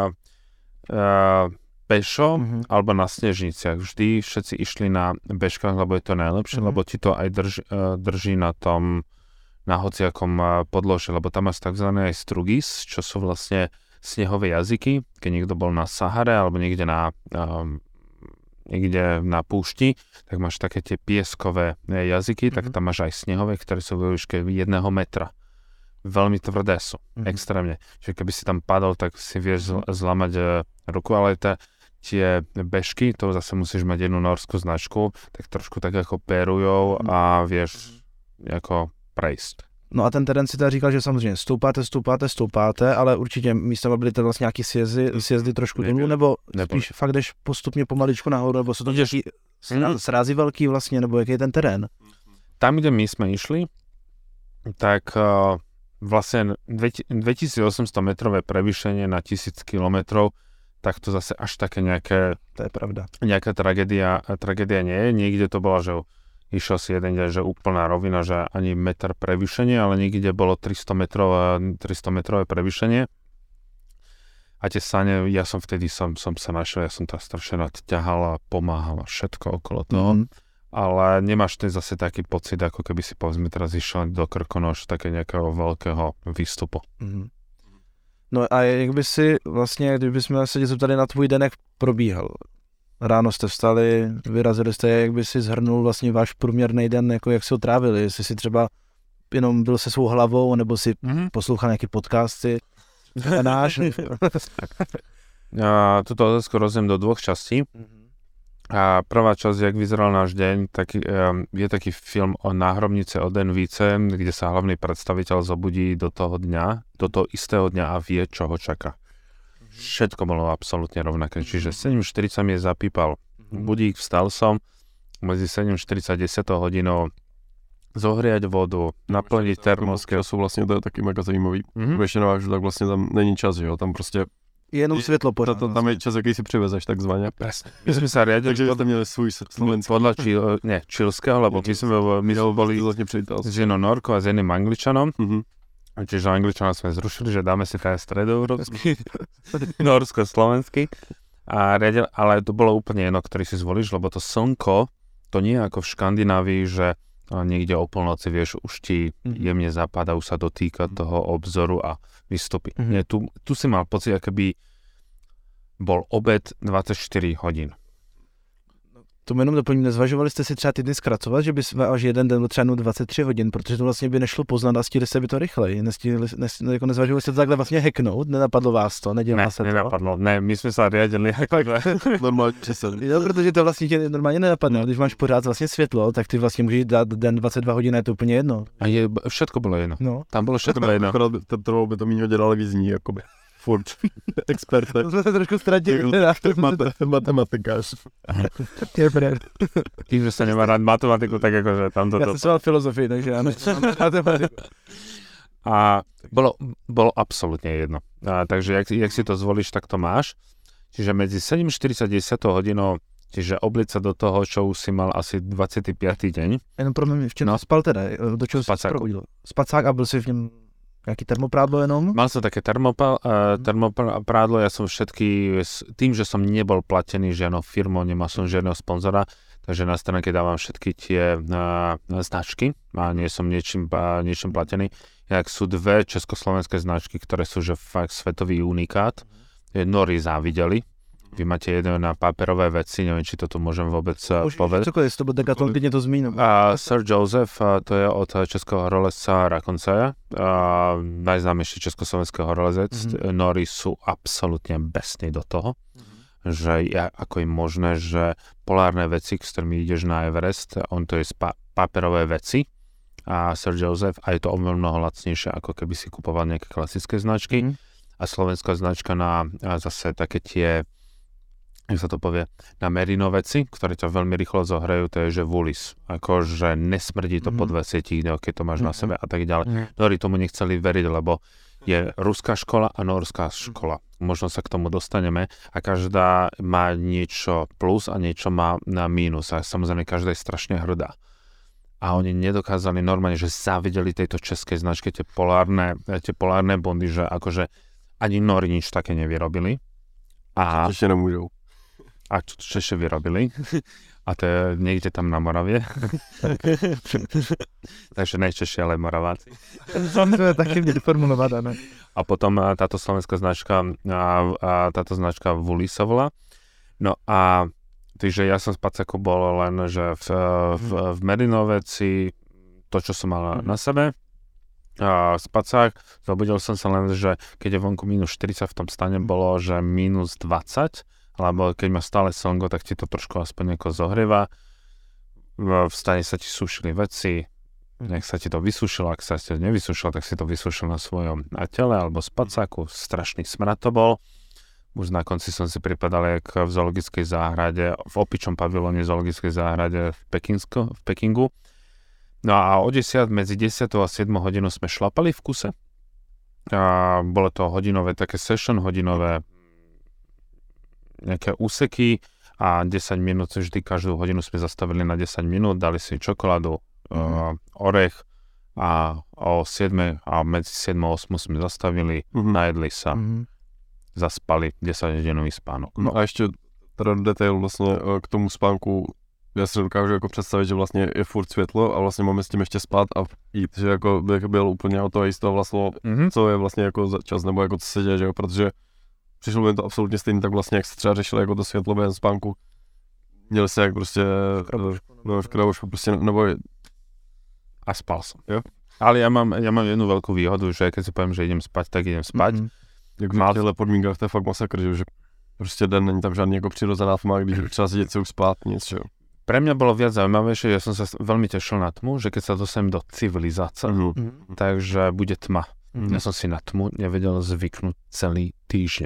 pešo alebo na snežniciach. Vždy všetci išli na bežkách, lebo je to najlepšie, lebo ti to aj drží na tom, na hociakom podlože, lebo tam máš takzvané aj strugis, čo sú vlastne snehové jazyky. Keď niekto bol na Sahare alebo niekde na púšti, tak máš také tie pieskové jazyky, tak tam máš aj snehové, ktoré sú vo výške 1 metra. Veľmi tvrdé sú, extrémne. Čiže keby si tam padol, tak si vieš zlamať ruku, ale tie bežky, to zase musíš mať jednu norskú značku, tak trošku tak ako perujou a vieš ako prejsť. No a ten terén si teda říkal, že samozřejmě stoupáte, ale určitě místama byly to vlastně nějaký sjezdy trošku dolů, nebo spíš fakt jdeš postupně pomaličku nahoru, nebo jsou to nějaký srázy velký vlastně, nebo jaký je ten terén? Tam, kde my jsme išli, tak vlastne 2800 metrové prevýšenie na 1000 kilometrov, tak to zase až také nejaké... To je pravda. Nejaká tragédia nie je. Niekde to bola, že išiel si jeden deň, že úplná rovina, že ani meter prevýšenie, ale niekde bolo 300 metrové prevýšenie. A tie sane, ja som vtedy som sa našiel, ja som tam strašne ťahal a pomáhal a všetko okolo toho. Ale nemáš ten zase taký pocit, ako keby si povedzme teraz išiel do Krkonoš také nejakého veľkého výstupu. No a jak by si vlastně, kdybychom se tě zeptali na tvůj den, jak probíhal? Ráno jste vstali, vyrazili jste, jak by si zhrnul vlastně váš průměrný den, jako jak si ho trávili, jestli si třeba jenom byl se svou hlavou, nebo si poslouchal nějaké podcasty, náš. Tuto otázku rozumiem do dvoch častí. A prvá časť, jak vyzeral náš deň, tak je taký film o Náhrobnice od Envíce, kde sa hlavný predstaviteľ zobudí do toho istého dňa a vie, čo ho čaká. Všetko bolo absolútne rovnaké, čiže 7:40 mi zapípal budík, vstal som, medzi 7:40 a 10 hodinou zohriať vodu, naplniť termosky. To sú vlastne, to je taky mega zajímavý. Většinou, že tak vlastně tam není čas, jo, tam prostě jenom světlo pořád. Tam je čas, jaký si přivezeš, takzvaně. Presne. My sme sa riadili... Takže jste měli svůj slovenský. Podľa čilského, lebo my sme boli s jednou Norkou a s jedným Angličanom. Čiže Angličana sme zrušili, že dáme si teda stredoeurópsky, norsko-slovenský. Ale to bolo úplne jedno, ktorý si zvolíš, lebo to slnko, to nie je ako v Škandinávii, že niekde o polnoci, vieš, už ti jemne zapadá, už sa dotýka toho obzoru a vystupy. Nie, tu si mal pocit, akoby bol obed 24 hodín. To jenom doplním, nezvažovali jste si třeba ty dny zkracovat, že by až jeden den třeba 23 hodin, protože to vlastně by nešlo poznat a stihli se by to rychleji. Jako nezvažovali jste to takhle vlastně hacknout, nenapadlo vás to, nedělá se to? Nenapadlo, ne, my jsme se riadili takhle. Normálně přesně. Jo, protože to vlastně tě normálně nenapadne, když máš pořád vlastně světlo, tak ty vlastně můžeš dát den 22 hodin, je to úplně jedno. A všetko bylo jedno. No. Tam bylo všetko jedno. Trvalo by to méně hodin, ale vyzní, jakoby. Furt. Expert. To jsme se trošku ztratili. Matematikář. Tím, že se nemá rád matematiku, tak jakože tam to... Já jsem sval filozofii, takže já nemám matematiku. A bolo absolútne jedno. Takže jak si to zvolíš, tak to máš. Čiže medzi 7:40 a 10 hodinou, čiže obliť sa do toho, čo už si mal asi 25. deň. Jenom pro mě, v čem spal teda? Do čeho jsi probudil? Spacák a byl si v něm nějaký termoprádlo jenom? Mal som také termoprádlo, ja som všetky, tým, že som nebol platený žiadnou firmou, nemal som žiadneho sponzora, takže na stránke dávam všetky tie značky a nie som niečím platený. Jak sú dve československé značky, ktoré sú že fakt svetový unikát. Nori závideli. Vy máte jedno na paperové veci, neviem, či to tu môžem vôbec povedať. Cokoliv, jestli to bude Decathlon, klidně to zmíním. Sir Joseph, to je od českého horolezca Rakoncaja, najznámejší československý horolezec. Nori sú absolútne besní do toho, že ako je možné, že polárne veci, s ktorými ideš na Everest, on to je paperové veci, a Sir Joseph, a je to oveľa mnoho lacnejšie, ako keby si kupoval nejaké klasické značky. A slovenská značka na zase také tie, jak sa to povie, na merino veci, ktoré ťa veľmi rýchlo zohrajú, to je že Woolies. Akože nesmrdí to po 20 dňoch, keď to máš na sebe a tak ďalej. Nori tomu nechceli veriť, lebo je ruská škola a norská škola. Možno sa k tomu dostaneme a každá má niečo plus a niečo má na mínus a samozrejme každá je strašne hrdá. A oni nedokázali normálne, že závideli tejto českej značke tie polárne bondy, že akože ani Nori nič také nevyrobili. A ešte nemôžu. A čo ešte vyrobili. A to je niekde tam na Moravie. Takže najčešie, ale Moraváci. To je taky formulované, ne? A potom táto slovenská značka, táto značka Woolies sa volá. No a takže ja som z Pacáku bol len, že v merino veci, to, čo som mal na sebe, Spacák, zobudil som sa len, že keď je vonku minus 40, v tom stane bolo, že minus 20, alebo keď má stále slnko, tak ti to trošku aspoň nejako zohrieva. V stane sa ti sušili veci, nech sa ti to vysušilo, ak sa ti to nevysušilo, tak si to vysušil na svojom tele, alebo Spacáku, strašný smrad to bol. Už na konci som si pripadal jak v zoologickej záhrade, v opičom pavilóne zoologickej záhrade v Pekingu. No a medzi 10 a 7 hodinou sme šlapali v kuse. A bolo to hodinové, také session hodinové nejaké úseky a 10 minút, vždy každú hodinu sme zastavili na 10 minút, dali si čokoládu, orech a o 7 a medzi 7 a 8 sme zastavili, najedli sa. Zaspali 10-hodinový spánok. No a ještě teda detail vlastně k tomu spánku, já si dokážu jako představit, že vlastně je furt světlo a vlastně máme s tím ještě spát a jít, že jako bych byl úplně o toho jistého vlastně, co je vlastně jako čas nebo jako co se děje, že jo, protože přišlo mi to absolutně stejně tak vlastně, jak se třeba řešili jako to světlo během spánku. Měli se jak prostě v krabošku prostě, nebo a spal som. Jo? Ale ja mám jednu veľkú výhodu, že keď si poviem, že idem spať, tak idem spať. Jak v těchto podmínkách to je fakt masakr, že prostě den není tam žádný jako přirozená tma, když třeba si děti spát, nic, že jo. Pre mňa bolo viac zaujímavejšie, ja som sa veľmi tešil na tmu, že keď sa dostanem do civilizácie, takže bude tma. Ja som si na tmu nevedel zvyknúť celý týždeň.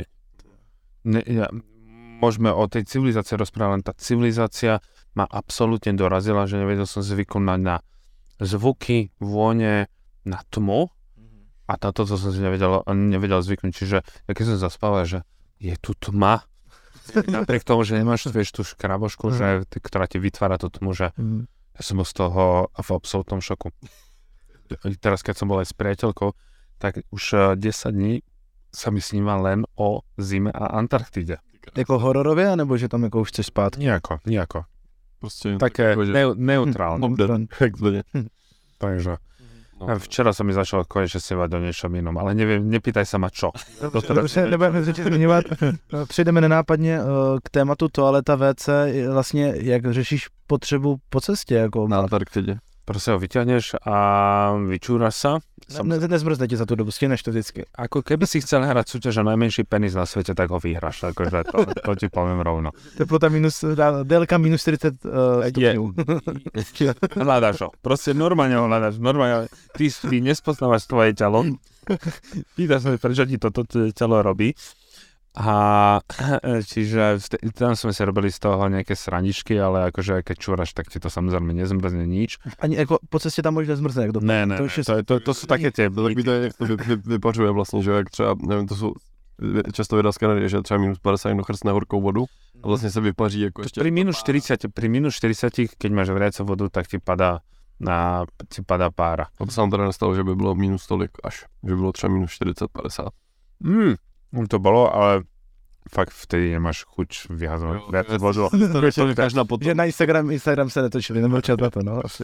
Môžeme o tej civilizácii rozprávať, len tá civilizácia ma absolútne dorazila, že nevedel som zvyknúť na zvuky, vône, na tmu. A toto som si nevedel zvyknúť, čiže keď som zaspával, že je tu tma, napriek tomu, že nemáš tú škrabošku, ktorá ti vytvára tú tmu, že ja som bol z toho v absolútnom šoku. Teraz, keď som bol aj s priateľkou, tak už 10 dní sa mi sníva len o zime a Antarktide. Jako hororově, nebo že tam jako už chceš spát? Nijako. Prostě také neutrálne. Takže. Včera som mi začal konečne snívať o niečom inom, ale neviem, nepýtaj sa ma čo. Dobře, nebudeme řeči zmiňovat. Přejdeme nenápadně k tématu toaleta WC. Vlastně, jak řešíš potřebu po cestě? Jako... Na Antarktidě. Proste ho vyťahneš a vyčúraš sa. Nezmrzne ti za tú dobu, stihneš to vždycky. Ako keby si chcel hrať súťaž o najmenší penis na svete, tak ho vyhráš. Akože to ti poviem rovno. Teplota délka minus 40 stupňov. Hľadaš ho. Proste normálne ho hľadaš. Normálne. Ty nespoznávaš svoje telo. Pýtaš sa, prečo ti toto telo robí. A čiže tam sme si robili z toho nejaké srandičky, ale akože keď čúraš, tak ti to samozrejme nezmrzne nič. Ani ako po cestě tam možná zmrzne, jak Ne, to sú také tie... Tak mi to vypařuje vlastně, že jak třeba, nevím, to sú často videa z Kanady, že třeba minus 50 někdo chrstne horkou vodu a vlastně se vypaří jako ještě... Pri minus 40, keď máš vriacu vodu, tak ti padá pára. A to sa nám teda nestalo, že by bylo minus tolik až, že by bylo třeba minus 40-50. To bolo, ale fakt vtedy nemáš chuť vyhazovať viac vodu. Že na Instagram se netočili, nebyl čas na to, no asi.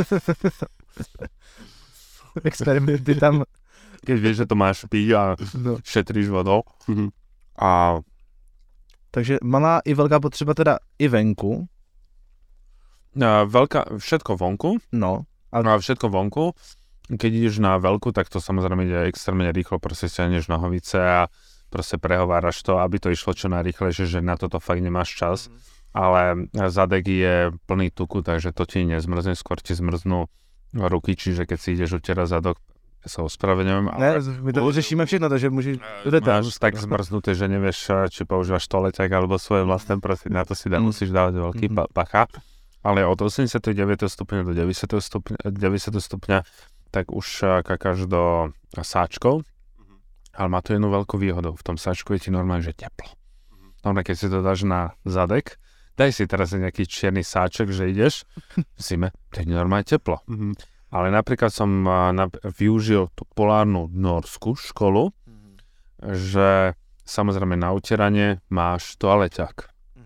Experimenty tam. Keď vieš, že to máš piť a šetríš vodou. Takže malá i veľká potřeba teda i venku. Všetko vonku. No. A všetko vonku. Keď ideš na veľkú, tak to samozrejme ide extrémne rýchlo, proste stiahneš nohavice a proste prehováraš to, aby to išlo čo najrýchlejšie, že na toto fakt nemáš čas. Ale zadek je plný tuku, takže to ti nezmrzne, skôr ti zmrznú ruky, čiže keď si ideš utierať zadok, sa ospravedlňujem. Ne, my to řešíme všechno, takže môžeš... Máš tak zmrznuté, že nevieš, či používaš toaleťak alebo svoje vlastné, proste na to si musíš dávať veľký pacha. Ale od 89. stupňa do 90. stupňa tak už kakáš do sáčkov, ale má to jednu veľkú výhodu. V tom sáčku je ti normálne, že teplo. Normálne, keď si to dáš na zadek, daj si teraz nejaký čierny sáček, že ideš v zime, to je normálne teplo. Ale napríklad som využil tú polárnu norskú školu, že samozrejme na utieranie máš toaleťak.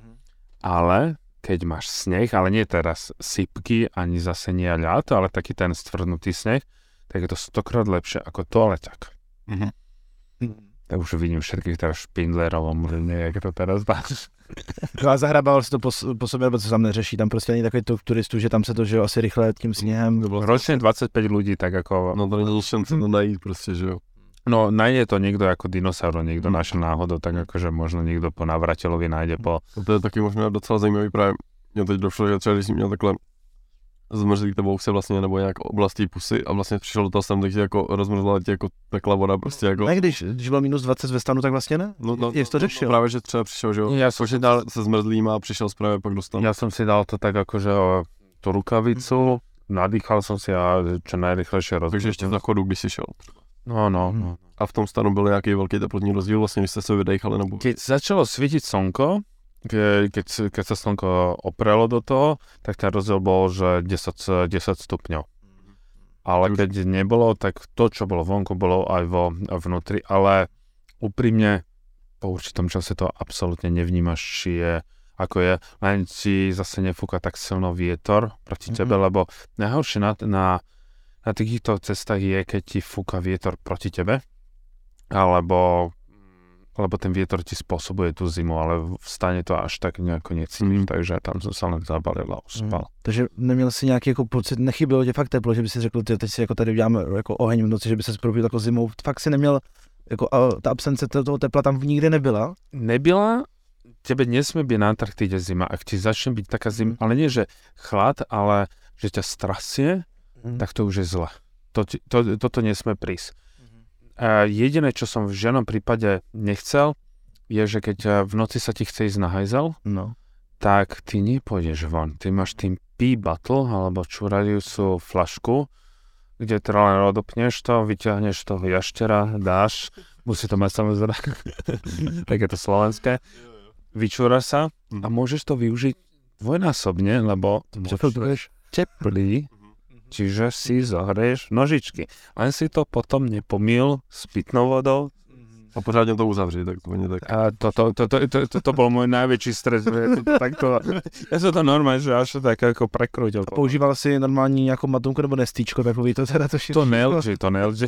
Ale keď máš sneh, ale nie teraz sypky, ani zase nie ľad, ale taký ten stvrdnutý sneh, tak je to 100-krát lepšie ako toaleťak. Tak už vidím všetkých teraz špindlerov, možno jak to teraz dáš. No a zahrabával si to po sobě, nebo co tam neřeší, tam prostě není takový tok turistů, že tam se to žije asi rychle tím sněhem. Ročne 25 ľudí, tak ako... No to není šance to najít prostě, že jo. No najde to niekto ako dinosaur, niekto našiel náhodou, tak akože možno niekto po navratelovi nájde po... To je taky možná docela zajímavý právě. Mně teď došlo, že třeba když jsi měl takhle zmrzlý tebou se vlastně nebo nějak oblastí pusy a vlastně přišel do toho sem, takže jako rozmrzla ti jako tekla voda prostě jako... Ne, když bylo minus 20 ve stanu, tak vlastně ne? No, jak to řešil? Právě, že třeba přišel, že jo, ja som si dal, se zmrzlým a přišel právě pak do stanu. Ja som si dal to tak akože tú rukavicu, nadýchal som si a čo najrychlejšie rozmrzl. Takže ještě v zachodu, když si šel. No. A v tom stanu byl nějaký velký teplotní rozdíl, vlastně, když jste se vydechali nebo... Keď začalo svietiť slnko, keď sa slnko oprelo do toho, tak ten rozdiel bol, že 10 stupňov. Ale keď nebolo, tak to, čo bolo vonku, bolo aj vo vnútri, ale úprimne po určitom čase to absolútne nevnímaš, či je ako je, len si zase nefúka tak silno vietor proti tebe, lebo najhoršie na takýchto cestách je, keď ti fúka vietor proti tebe, lebo ten vietor ti spôsobuje tú zimu, ale v stane to až tak nejako necítíš, takže tam som sa len zabalil a uspal. Takže neměl si nějaký jako pocit, nechybilo tě fakt teplo, že by si řekl, teď si jako tady uděláme jako oheň v noci, že by se probudil jako zimou, fakt si neměl, jako ta absence toho tepla tam nikdy nebyla? Nebyla, tebe nesmie byť na Antarktide zima, ak ti začne byť taká zima, ale nie, že chlad, ale že ťa strasie, tak to už je zle. Toto nesmie prísť. Jediné, čo som v žiadnom prípade nechcel, je, že keď v noci sa ti chce ísť na hajzel, tak ty nepôjdeš von. Ty máš tým pee bottle, alebo čurajúcu flašku, kde teda len odopneš to, vyťahneš toho jaštera, dáš, musí to mať samozrejme, tak je to slovenské, vyčúraš sa a môžeš to využiť dvojnásobne, lebo môžeš teplý, čiže si zohrieš nožičky. Len si to potom nepomýl s pitnou vodou, A pořádně to uzavřít, tak to není tak. A to bol môj najväčší stres. Takto, ja som to normálne, že až tak ako prekrútil. A používal si normální nějakou matunku nebo nestíčko, takový to teda to To nelži.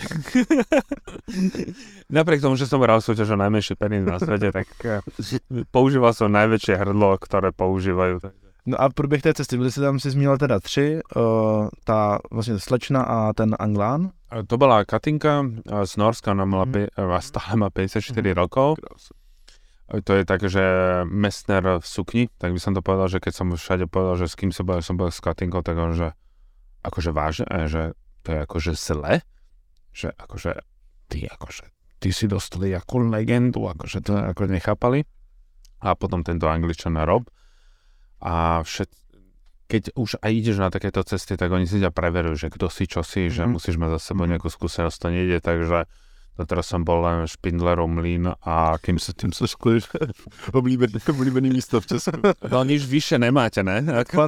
Napriek tomu, že som hral súťaž o najmenší penis na svete, tak používal som najväčšie hrdlo, ktoré používajú. No a průběh té cesty, byli jste tam, si zmínil teda 3, ta vlastně slečna a ten Anglán. To bola Katinka z Norska, ona mala stále má 54 rokov. To je tak, že Messner v sukni, tak by som to povedal, že keď som všade povedal, že s kým som bol s Katinkou, tak on, že akože vážne, že to je akože zle, že akože ty si dostali ako legendu, akože to akože nechápali. A potom tento Angličan Rob. A keď už aj ideš na takéto cesty, tak oni si ťa preverujú, že kto si, čo si, že musíš mať za sebou nejakú skúsenosť, to nejde, takže teraz som bol len Špindlerov mlyn a kým sa tým Skliš, oblíbený místo v Česku. No nič vyššie nemáte, ne?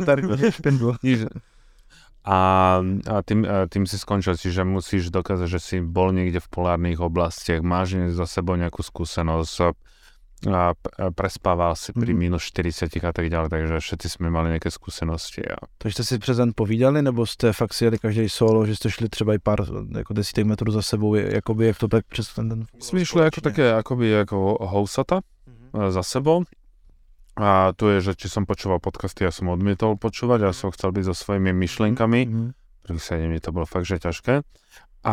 A tým si skončil, čiže musíš dokázať, že si bol niekde v polárnych oblastiach, máš za sebou nejakú skúsenosť, a prespával si pri minus 40 a tak ďalej, takže všetci sme mali nejaké skúsenosti. Takže jste si přes den povídali, nebo jste fakt si jeli každý solo, že jste šli třeba i pár jako desítek metrů za sebou, jakoby jak to tak přes ten den? Jsme šli jako také akoby jako housata za sebou. A tu je, že či som počúval podcasty, ja som odmietol počúvať, ja som chcel byť so svojimi myšlienkami, prvých 7 dní to bolo fakt, že ťažké. A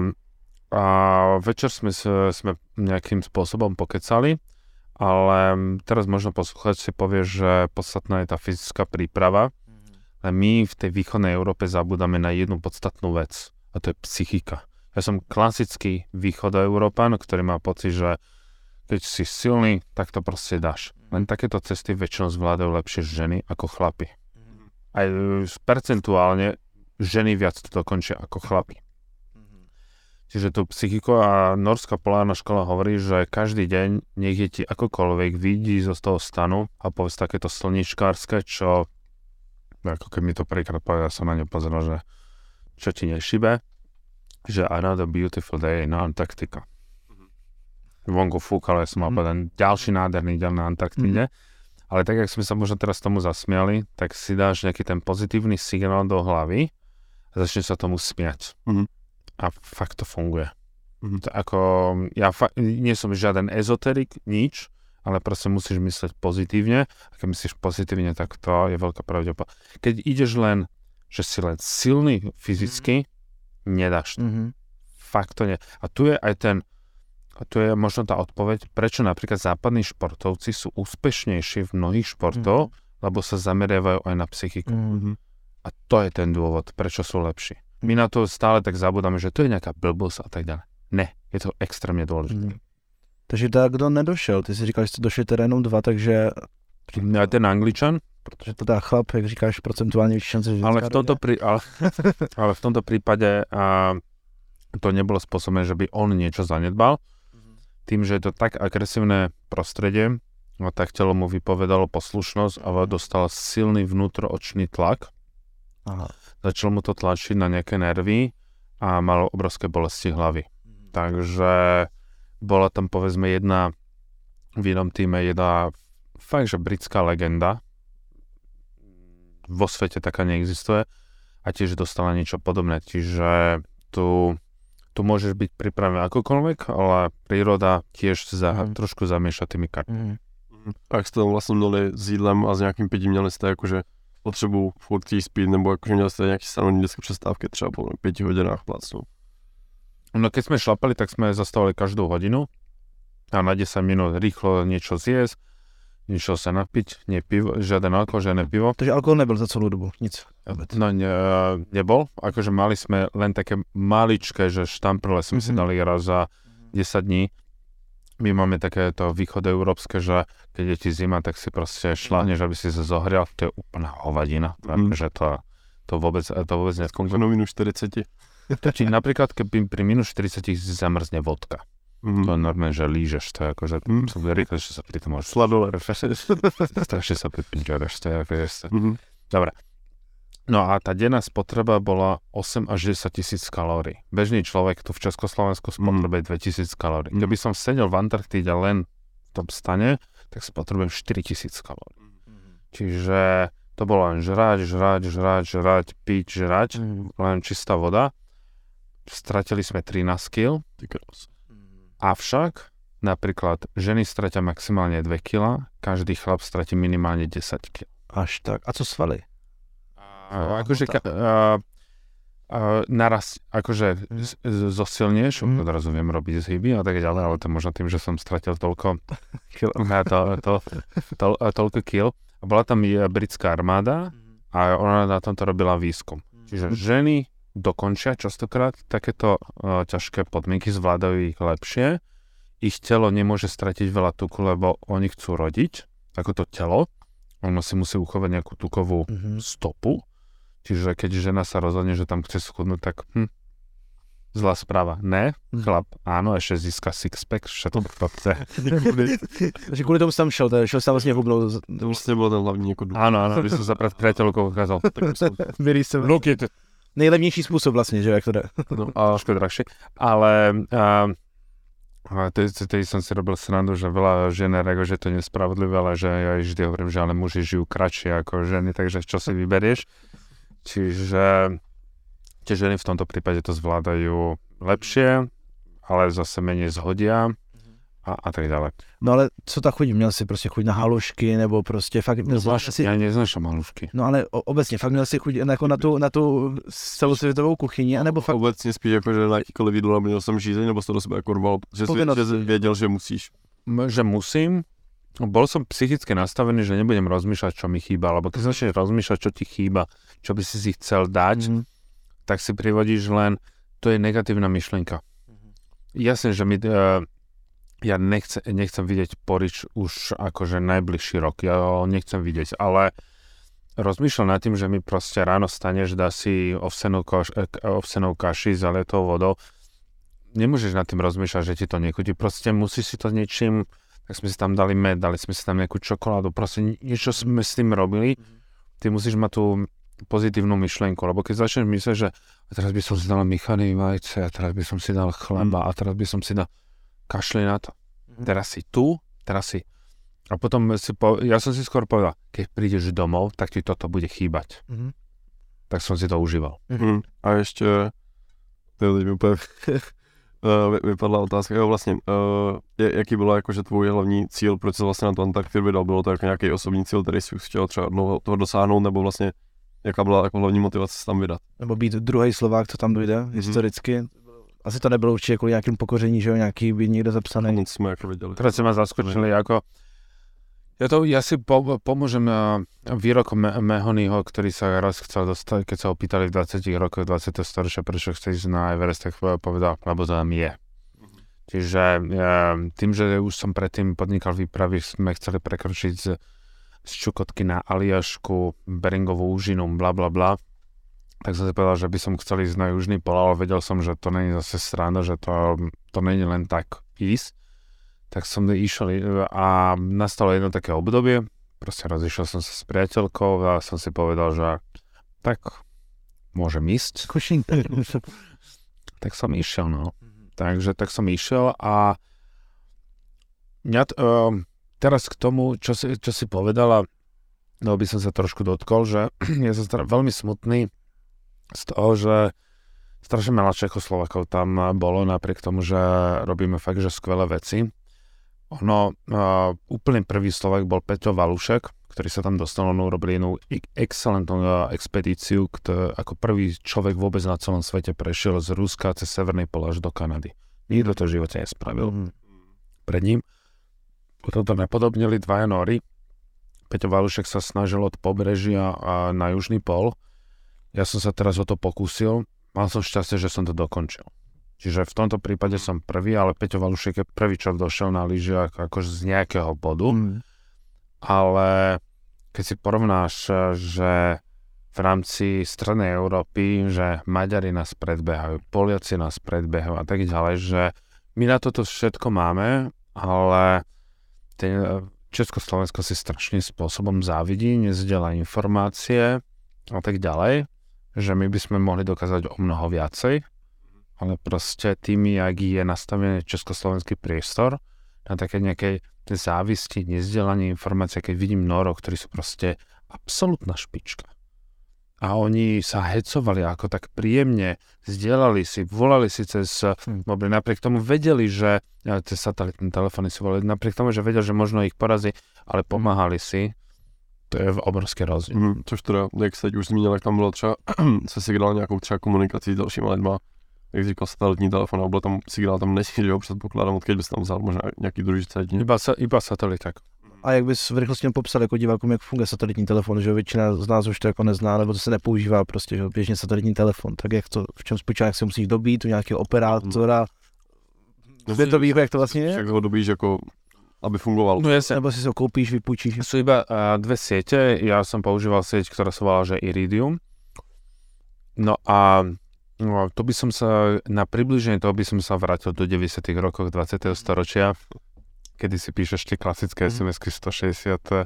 večer sme nejakým spôsobom pokecali, ale teraz možno posluchač si povie, že podstatná je tá fyzická príprava, ale my v tej východnej Európe zabúdame na jednu podstatnú vec, a to je psychika. Ja som klasický východoeurópan, ktorý má pocit, že keď si silný, tak to proste dáš. Len takéto cesty väčšinou zvládajú lepšie ženy ako chlapi. Aj percentuálne ženy viac to dokončia ako chlapi. Čiže tú psychiku a norská polárna škola hovorí, že každý deň nech je ti akokoľvek vidí zo toho stanu a povedz takéto slničkárske, čo ako keď mi to prvýkrát povedal, som na ňu pozeral, že čo ti nešibe, že another beautiful day na Antarktika. Vonku fúkalo, ja som mal povedať ďalší nádherný deň na Antarktide, ale tak, jak sme sa možno teraz tomu zasmiali, tak si dáš nejaký ten pozitívny signál do hlavy a začne sa tomu smiať. A fakt to funguje. To ako, ja nie som žiaden ezoterik, nič, ale proste musíš myslieť pozitívne. A keď myslíš pozitívne, tak to je veľká pravdepodobnosť. Keď ideš len, že si len silný fyzicky, nedáš to. Fakt to nie. A tu je aj tu je možno tá odpoveď, prečo napríklad západní športovci sú úspešnejší v mnohých športoch, lebo sa zameriavajú aj na psychiku. A to je ten dôvod, prečo sú lepší. My na to stále tak zabudáme, že to je nejaká blbosť a tak ďalej. Ne, je to extrémně důležité. Takže tak, kdo nedošel? Ty si říkal, že jste došli teda jenom 2, takže... Ten Angličan? Protože to dá chlap, jak říkáš, procentuálně větší šance, že ale v tomto prípade to nebolo spôsobené, že by on niečo zanedbal. Tým, že je to tak agresívne prostredie, tak telo mu vypovedalo poslušnosť a dostal silný vnútroočný tlak. Začal mu to tlačiť na nejaké nervy a mal obrovské bolesti hlavy. Takže bola tam povedzme jedna v jednom týme jedna fakt, že britská legenda. Vo svete taká neexistuje a tiež dostala niečo podobné. Čiže tu môžeš byť pripravený akokoľvek, ale príroda tiež trošku zamieša tými kartami. Jak jste tam vlastně měli s jídlem a s nějakým pitím, měli jste jakože potřebu furt jí spít, nebo jakože měli jste nějaké stanovené vždycky přestávky třeba po 5 hodinách plácnu? No keď sme šlapali, tak sme zastavili každú hodinu a na 10 minút rýchlo niečo zjesť, niečo sa napiť, nie pivo, žiaden alkohol, žiadne pivo. Takže alkohol nebyl za celú dobu, nic? No nebol, akože mali sme len také maličké, že štamprle sme si dali raz za 10 dní. My máme takéto východoeurópske, že keď je ti zima, tak si proste šláhneš, aby si sa zohrial, to je úplná hovadina, že to vôbec nefunguje. No minus 40. Čiže napríklad, keby pri minus 40 zamrzne vodka. To je normálne, že lížeš, to je akože rýchle, že sa pri tom môžeš sladole. Strašne sa pripíďareš, to je ako Dobre. No a tá denná spotreba bola 8 až 10 tisíc kalórií. Bežný človek tu v Československu spotrebuje 2000 kalórií. Keby som sedel v Antarktíde len v tom stane, tak spotrebujem 4000 kalórií. Čiže to bolo len žrať, piť, len čistá voda. Stratili sme 13 kg. Avšak napríklad ženy stratia maximálne 2 kg, každý chlap stratí minimálne 10 kg. Až tak. A co svaly? Akože naraz, akože zosilnieš, odrazu viem robiť zhyby a tak ďalej, ale to možno tým, že som stratil toľko kil. A bola tam britská armáda a ona na tomto robila výskum. Čiže ženy dokončia častokrát takéto ťažké podmienky, zvládajú ich lepšie. Ich telo nemôže stratiť veľa tuku, lebo oni chcú rodiť, ako to telo. Ono si musí uchovať nejakú tukovú stopu. Čiže keď žena sa rozhodne, že tam chce schudnúť, tak zlá správa. Ne, chlap, áno, ešte získa six-pack, všetko to chce. Takže kvôli tomu som šel sa vlastne hubnul. To vlastne bol ten hlavní jako důvod. Áno, by som sa pred priateľkou ukázal. Look it. Nejlevnější způsob vlastně, že jak to jde. No, a trošku drahšie. Ale tedy som si robil srandu, že veľa žien reaguje, že to je nespravodlivé, ale že ja vždy hovorím, že ale muži žijú kratšie ako ženy, takže čo si vyberieš. Čiže tie ženy v tomto prípade to zvládajú lepšie, ale zase menej zhodia a tak ďalej. No ale co ta chuť? Měl si prostě chuť na halušky, nebo prostě fakt... Ja neznášam halušky. No ale obecně, fakt měl si chuť jako na tu celosvětovou kuchyni, anebo fakt... Obecně spíš jako, že na jakýkoliv jídlo neměl jsem žízeň, nebo to do sebe jako rval, že jsi věděl, že musíš. Že musím. Bol som psychicky nastavený, že nebudem rozmýšľať, čo mi chýba, lebo keď začneš rozmýšľať, čo ti chýba, čo by si chcel dať, tak si privodíš len, to je negatívna myšlienka. Jasne, že ja nechcem vidieť porič už akože najbližší rok, ja ho nechcem vidieť, ale rozmýšľam nad tým, že mi proste ráno staneš, dá si ovsenou kaši s zalietou vodou, nemôžeš nad tým rozmýšľať, že ti to nechutí, proste musíš si to niečím. Tak sme si tam dali med, dali sme si tam nejakú čokoládu, proste niečo sme s tým robili. Ty musíš mať tú pozitívnu myšlienku, lebo keď začneš myslieť, že a teraz by som si dal míchané vajce, a teraz by som si dal chleba, a teraz by som si dal kašli na to. Teraz si tu, teraz si... A potom ja som si skôr povedal, keď prídeš domov, tak ti toto bude chýbať. Tak som si to užíval. A ještě, to teď mi úplně... vypadla otázka, jo vlastně, jaký bylo jakože tvůj hlavní cíl, proč se vlastně na to Antarktidu vydal, bylo to jako nějaký osobní cíl, který jsi chtěl třeba toho dosáhnout, nebo vlastně jaká byla jako hlavní motivace se tam vydat? Nebo být druhý Slovák, co tam dojde, historicky. Asi to nebylo určitě kvůli nějakým pokoření, že jo, nějaký by někdo zapsaný. Nic jsme jako viděli. Teraz se ma zaskočili, jako ja si pomôžem výrokom Mahonyho, ktorý sa raz chcel dostať, keď sa ho pýtali v 20 rokoch 20. storočia, prečo chce ísť na Everest, tak povedal, lebo to tam je. Čiže tým, že už som predtým podnikal výpravy, sme chceli prekročiť z Čukotky na Aliašku, Beringovú úžinu, bla bla bla, tak som si povedal, že by som chcel ísť na južný pol, ale vedel som, že to nie je zase sranda, že to nie je len tak ísť. Tak som išiel a nastalo jedno také obdobie, proste rozišiel som sa s priateľkou a som si povedal, že tak môžem ísť. Tak som išiel, no. Takže tak som išiel a teraz k tomu, čo si povedala, no by som sa trošku dotkol, že ja som veľmi smutný z toho, že strašne veľa Čechoslovakov tam bolo, napriek tomu, že robíme fakt, že skvelé veci. Úplne prvý Slovák bol Peťo Valušek, ktorý sa tam dostal, urobili jednu excelentnú expedíciu, ako prvý človek vôbec na celom svete prešiel z Ruska cez Severný pol až do Kanady. Nikto to v živote nespravil pred ním. Potom to napodobnili dvaja Nóri. Peťo Valušek sa snažil od pobrežia na južný pol. Ja som sa teraz o to pokúsil. Mal som šťastie, že som to dokončil. Čiže v tomto prípade som prvý, ale Peťo Valušek je prvý, čo došiel na lyžiach akože z nejakého bodu. Ale keď si porovnáš, že v rámci strednej Európy, že Maďari nás predbehajú, Poliaci nás predbehajú a tak ďalej, že my na toto všetko máme, ale Československo si strašným spôsobom závidí, nezdieľa informácie a tak ďalej, že my by sme mohli dokázať o mnoho viacej, ale proste tým, jak je nastavený československý priestor na také nejakej závisti, nezdielanie informácie, keď vidím Norov, ktorí sú proste absolútna špička. A oni sa hecovali ako tak príjemne, zdieľali si, volali si cez mobil, napriek tomu vedeli, že cez satelitné telefóny si volali, napriek tomu, že vedeli, že možno ich porazí, ale pomáhali si. To je obrovský rozdíl. Což teda, jak se teď už zmínil, jak tam bylo třeba se signál nějakou třeba komunikací s dalšíma lidma, jak říkal satelitní telefon, a byl tam signál, tam nejsi, že ho předpokládám, odkud bys tam vzal možná nějaký druhý satelitní. Iba satelit, tak. A jak bys v rychlosti popsal jako divákům, jak funguje satelitní telefon, že většina z nás už to jako nezná, nebo to se nepoužívá prostě, že běžně satelitní telefon, tak jak to, v čem spočívá, jak se musíš dobít u nějakého operátora, to ví, jak to vlastně je? Jak ho dobíš jako, aby fungoval. No jasne. Nebo si ho koupíš, vypůjčíš? Sú iba dve siete, ja som používal sieť, ktorá sa volala, že Iridium. No a to by som sa, na približenie toho by som sa vrátil do 90. rokov 20. storočia, kedy si píšeš tie klasické SMS-ky 160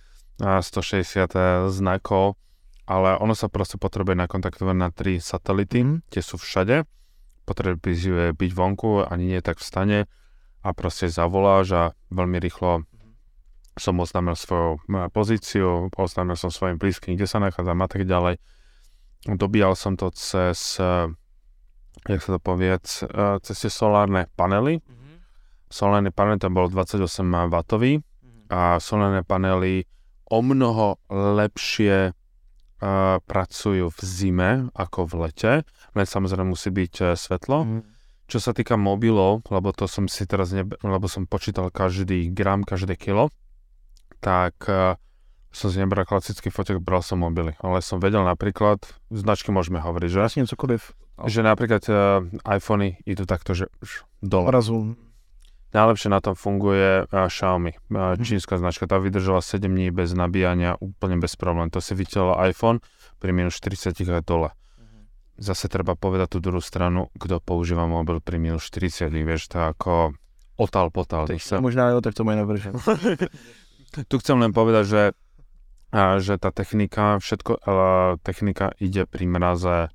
znakov, ale ono sa proste potrebuje nakontaktovať na 3 satelity, tie sú všade, potrebuje byť vonku, ani nie tak v stane a proste zavoláš a veľmi rýchlo som oznámil svoju pozíciu, oznámil som svojim blízkym, kde sa nachádzam a tak ďalej. Dobíjal som to cez, jak sa to povie, cez tie solárne panely. Solárne panely, to bolo 28W a solárne panely o mnoho lepšie pracujú v zime ako v lete, len samozrejme musí byť svetlo. Čo sa týka mobilov, lebo to som si teraz lebo som počítal každý gram, každé kilo, tak som si nebral klasický foťák, bral som mobily, ale som vedel napríklad, značky môžeme hovoriť, že? Vlastne cokoliv. Že napríklad iPhony idú takto, že dole. Obrazu. Najlepšie na tom funguje Xiaomi, čínska značka, tá vydržala 7 dní bez nabíjania, úplne bez problém. To si videl iPhone pri minus 40 a dole. Zase treba povedať tú druhú stranu, kto používa mobil pri minus 40, vieš, to ako otal potal. Možná jo, tak to mají navržen. Tu chcem len povedať, že tá technika, technika ide pri mraze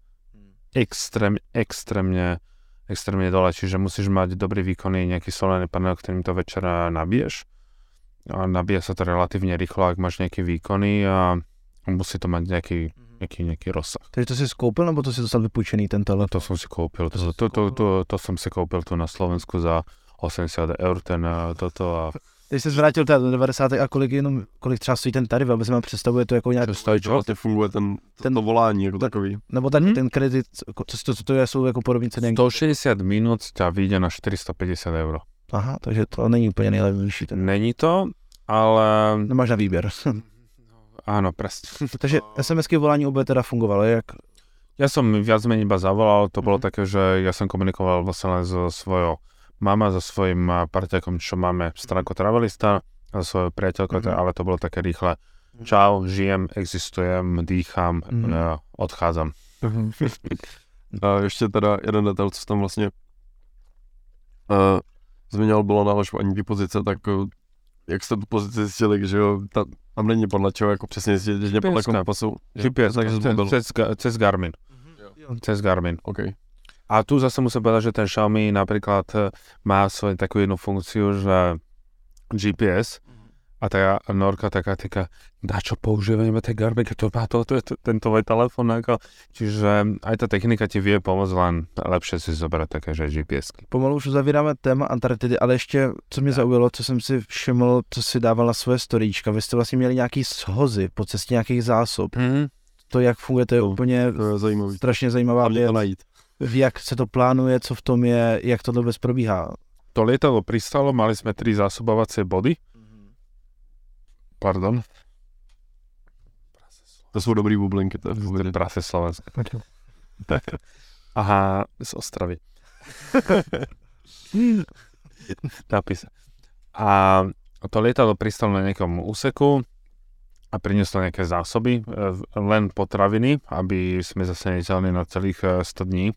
extrémne dole, čiže musíš mať dobrý výkonný nejaký solárny panel, ktorým to večer nabiješ. A nabíja sa to relatívne rýchlo, ak máš nejaký výkonný a musí to mať nejaký rozsah. Takže to si koupil, nebo to si dostal vypůjčený ten telefon? To som si koupil. To som si koupil tu na Slovensku za 80 eur toto a... Když jsi zvrátil teda do 90. a kolik třeba stojí ten tarif, aby se vám představuje to jako nějak... Co vlastně funguje to volání jako takový? Nebo ten kredit, co to jsou jako podobné ceny? 160 minút ťa vyjde na 450 eur. Aha, takže to není úplně nejlevnější. Není to, ale... Nemáš na výběr. Áno, presne. Takže SMS-ky volání oboje teda fungovalo, jak? Ja som viac menej iba zavolal, to bolo také, že ja som komunikoval vlastne len so svojou mama, so svojím parťakom, čo máme stránku Travelista, so svojou priateľkou, ale to bolo také rýchle. Čau, žijem, existujem, dýcham, odchádzam. A ještě teda jeden detail, co tam vlastně zmiňoval, bylo na lažování té pozice, tak jak jste tu pozici zjistili, že jo, tam není podle čeho, jako přesně zjistit, že podle kompasu. GPS, cez Garmin. Cez Garmin. Okay. A tu zase musím povedať, že ten Xiaomi napríklad má svoju takú jednu funkciu, že GPS a tá Norka taká, na čo používame ten Garmin, keď to má ten tvoj telefón. Čiže aj tá technika ti vie pomôcť, len lepšie si zobrať také, že GPS-ky. Pomalu už zavíráme téma Antarktidy, ale ještě, co mě zaujalo, co jsem si všiml, co si dával na svoje storíčka. Vy jste vlastně měli nějaký shozy po cestě nějakých zásob. To, jak funguje, to je úplně strašně zajímavá věc. Jak se to plánuje, co v tom je, jak to vůbec probíhá? To lietadlo pristalo, mali sme 3 zásobovacie body. Pardon. To sú dobrý bublinky. To je prase slovenské. Aha, z Ostravy. Napísa. A to lietadlo pristalo na nejakom úseku a prinieslo nejaké zásoby, len potraviny, aby sme zase neťahli na celých 100 dní.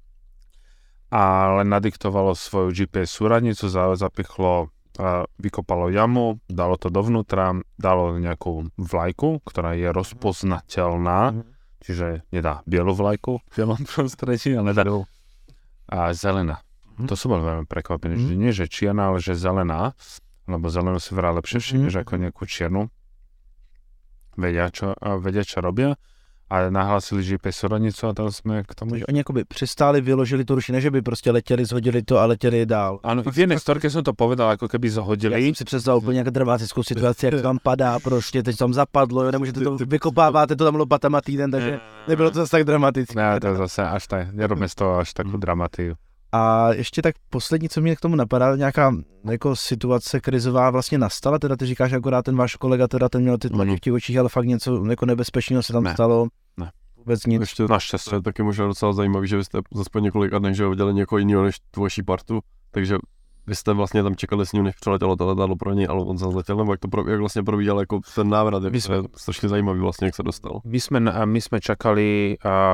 A len nadiktovalo svoju GPS súradnicu, zapichlo, vykopalo jamu, dalo to dovnútra, dalo nejakú vlajku, ktorá je rozpoznateľná čiže nedá bielu vlajku v bielom prostredí, ale dá a zelená. To som bol veľmi prekvapený, že nie že čierna, ale že zelená, lebo zelenú si vrá lepšie všimneš ako nejakú čiernu. Vedia, čo robia. A nahlásili GPS súradnicu a tam sme k tomu... Oni akoby přistáli, vyložili to ruši, ne že by prostě letěli, zhodili to a letěli dál. Áno, v jednej storke som to povedal, ako keby zhodili. Já jsem si představil úplně nějakou dramatickou situaci, jak to tam padá, prostě teď tam zapadlo, jo, nemůžete to, vykopáváte to tam lopatama týden, takže nebylo to zase tak dramatické. Ne, to je zase až tak, nerobme z toho až takú dramatiu. A ještě tak poslední, co mě k tomu napadá, nějaká jako situace krizová vlastně nastala, teda ty říkáš akorát ten váš kolega, teda ten měl ty tlaky v těch očích, ale fakt něco jako nebezpečného se tam stalo. Ne. Vůbec nic. Ještě naštěstí je taky možná docela zajímavý, že vy jste zase po několika dnech, že viděli někoho jiného než tu vaší partu, takže vy jste vlastně tam čekali s ním, než přiletělo to letadlo pro něj, ale on se zletěl, nebo jak vlastně probíhal jako ten návrat, je strašně zajímavý vlastně, jak se dostal. My sme čakali,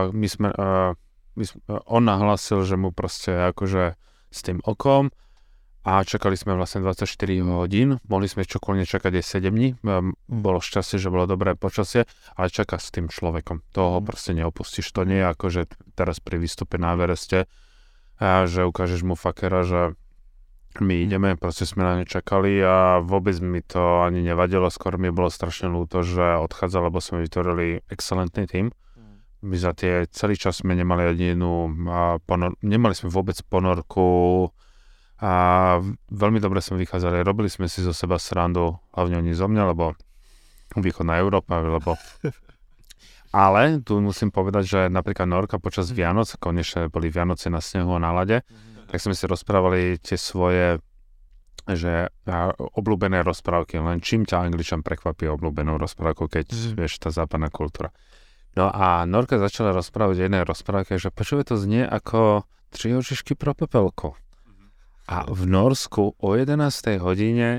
on nahlásil, že mu proste akože s tým okom a čakali sme vlastne 24 hodín, mohli sme čokoľvek čakať aj 7 dní, bolo šťastie, že bolo dobré počasie, ale čaká s tým človekom, toho proste neopustíš, to nie je ako, že teraz pri výstupe na Evereste, že ukážeš mu fakera, že my ideme, proste sme na ne čakali a vôbec mi to ani nevadilo, skôr mi bolo strašne ľúto, že odchádza, lebo sme vytvorili excelentný tím. My za tie celý čas sme nemali ani jednu nemali sme vôbec ponorku a veľmi dobre sme vychádzali, robili sme si zo seba srandu, hlavne oni zo mňa, lebo východná Európa, lebo ale tu musím povedať, že napríklad Norka počas Vianoc, konečne boli Vianoce na snehu a na lade, tak sme si rozprávali tie svoje že obľúbené rozprávky, len čím ťa Angličan prekvapí obľúbenou rozprávkou, keď vieš, tá západná kultúra. No a Norka začala rozprávať jednej rozprávke, že počuje to znie ako 3 ožišky pro pepelku. A v Norsku o 11. hodine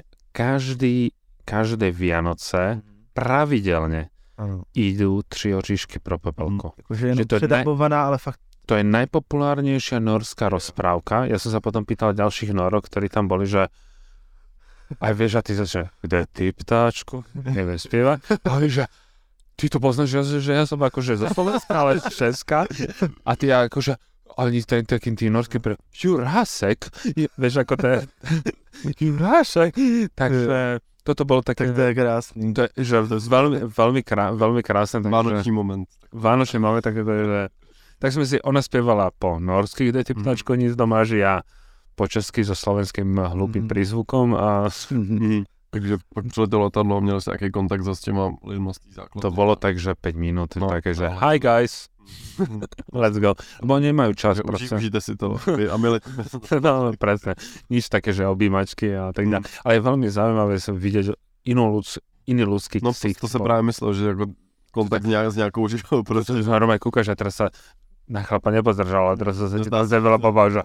každé Vianoce pravidelne idú 3 ožišky pro pepelku. Akože je předabovaná, ale fakt... To je najpopulárnejšia norská rozprávka. Ja som sa potom pýtal ďalších Norok, ktorí tam boli, že aj vieš, a ty že kde ty, ptáčku? Neviem spievať. A vieš, že ty to poznáš, že ja som akože zo Slovenska, ale z Česka. A ty akože, ale taký tí norský pre Jurásek, vieš, ako to je Jurásek. Takže toto bolo také... Tak to je krásný. To je, že veľmi krásne. Vánočný moment. Vánočný moment, tak to je, že... Tak sme si, ona spievala po norsky, kde ty ptáčko nic doma, že ja po česky so slovenským hlúpým prízvukom a... Takže pak přiletělo letadlo, měli jste nějaký kontakt s těma lidma z té základny. To bolo tak, že 5 minút, také, že hi guys, let's go. Lebo nemajú čas proste. Užijte si to a milí. No, presne. Nič také, že objímačky a tak ďalej. Ale je veľmi zaujímavé sa vidieť iný ľudský ksich. No to se právě myslel, že jako kontakt s nějakou žižou. Protože normálne kúkaš a teraz sa na chlapa nepozdržal, ale teraz sa ti tam zevela pobáža.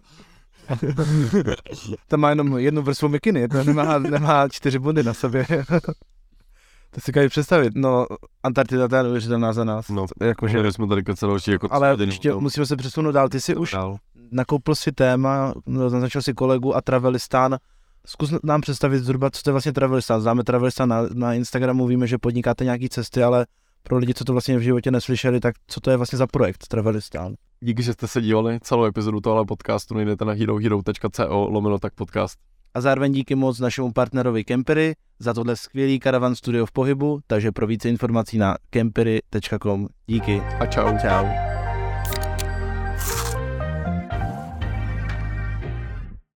Tam má jenom jednu vrstvu mikiny, to nemá 4 bundy na sobě. To si každý představit, no Antarktida je neuvěřitelná za nás. No, jakože jsme tady keceloči jako ale ještě musíme se přesunout dál, ty si už nakoupil si téma, naznačil si kolegu a Travelistán. Zkus nám představit zhruba, co to je vlastně Travelistán. Známe Travelistán na Instagramu, víme, že podnikáte nějaký cesty, ale pro lidi, co to vlastně v životě neslyšeli, tak co to je vlastně za projekt Travelistán? Díky, že jste se dívali celou epizodu tohle podcastu, najdete na herohero.co/podcast. A zároveň díky moc našemu partnerovi Kempery za tohle skvělý karavan studio v pohybu, takže pro více informací na kempery.com. Díky a čau. Čau.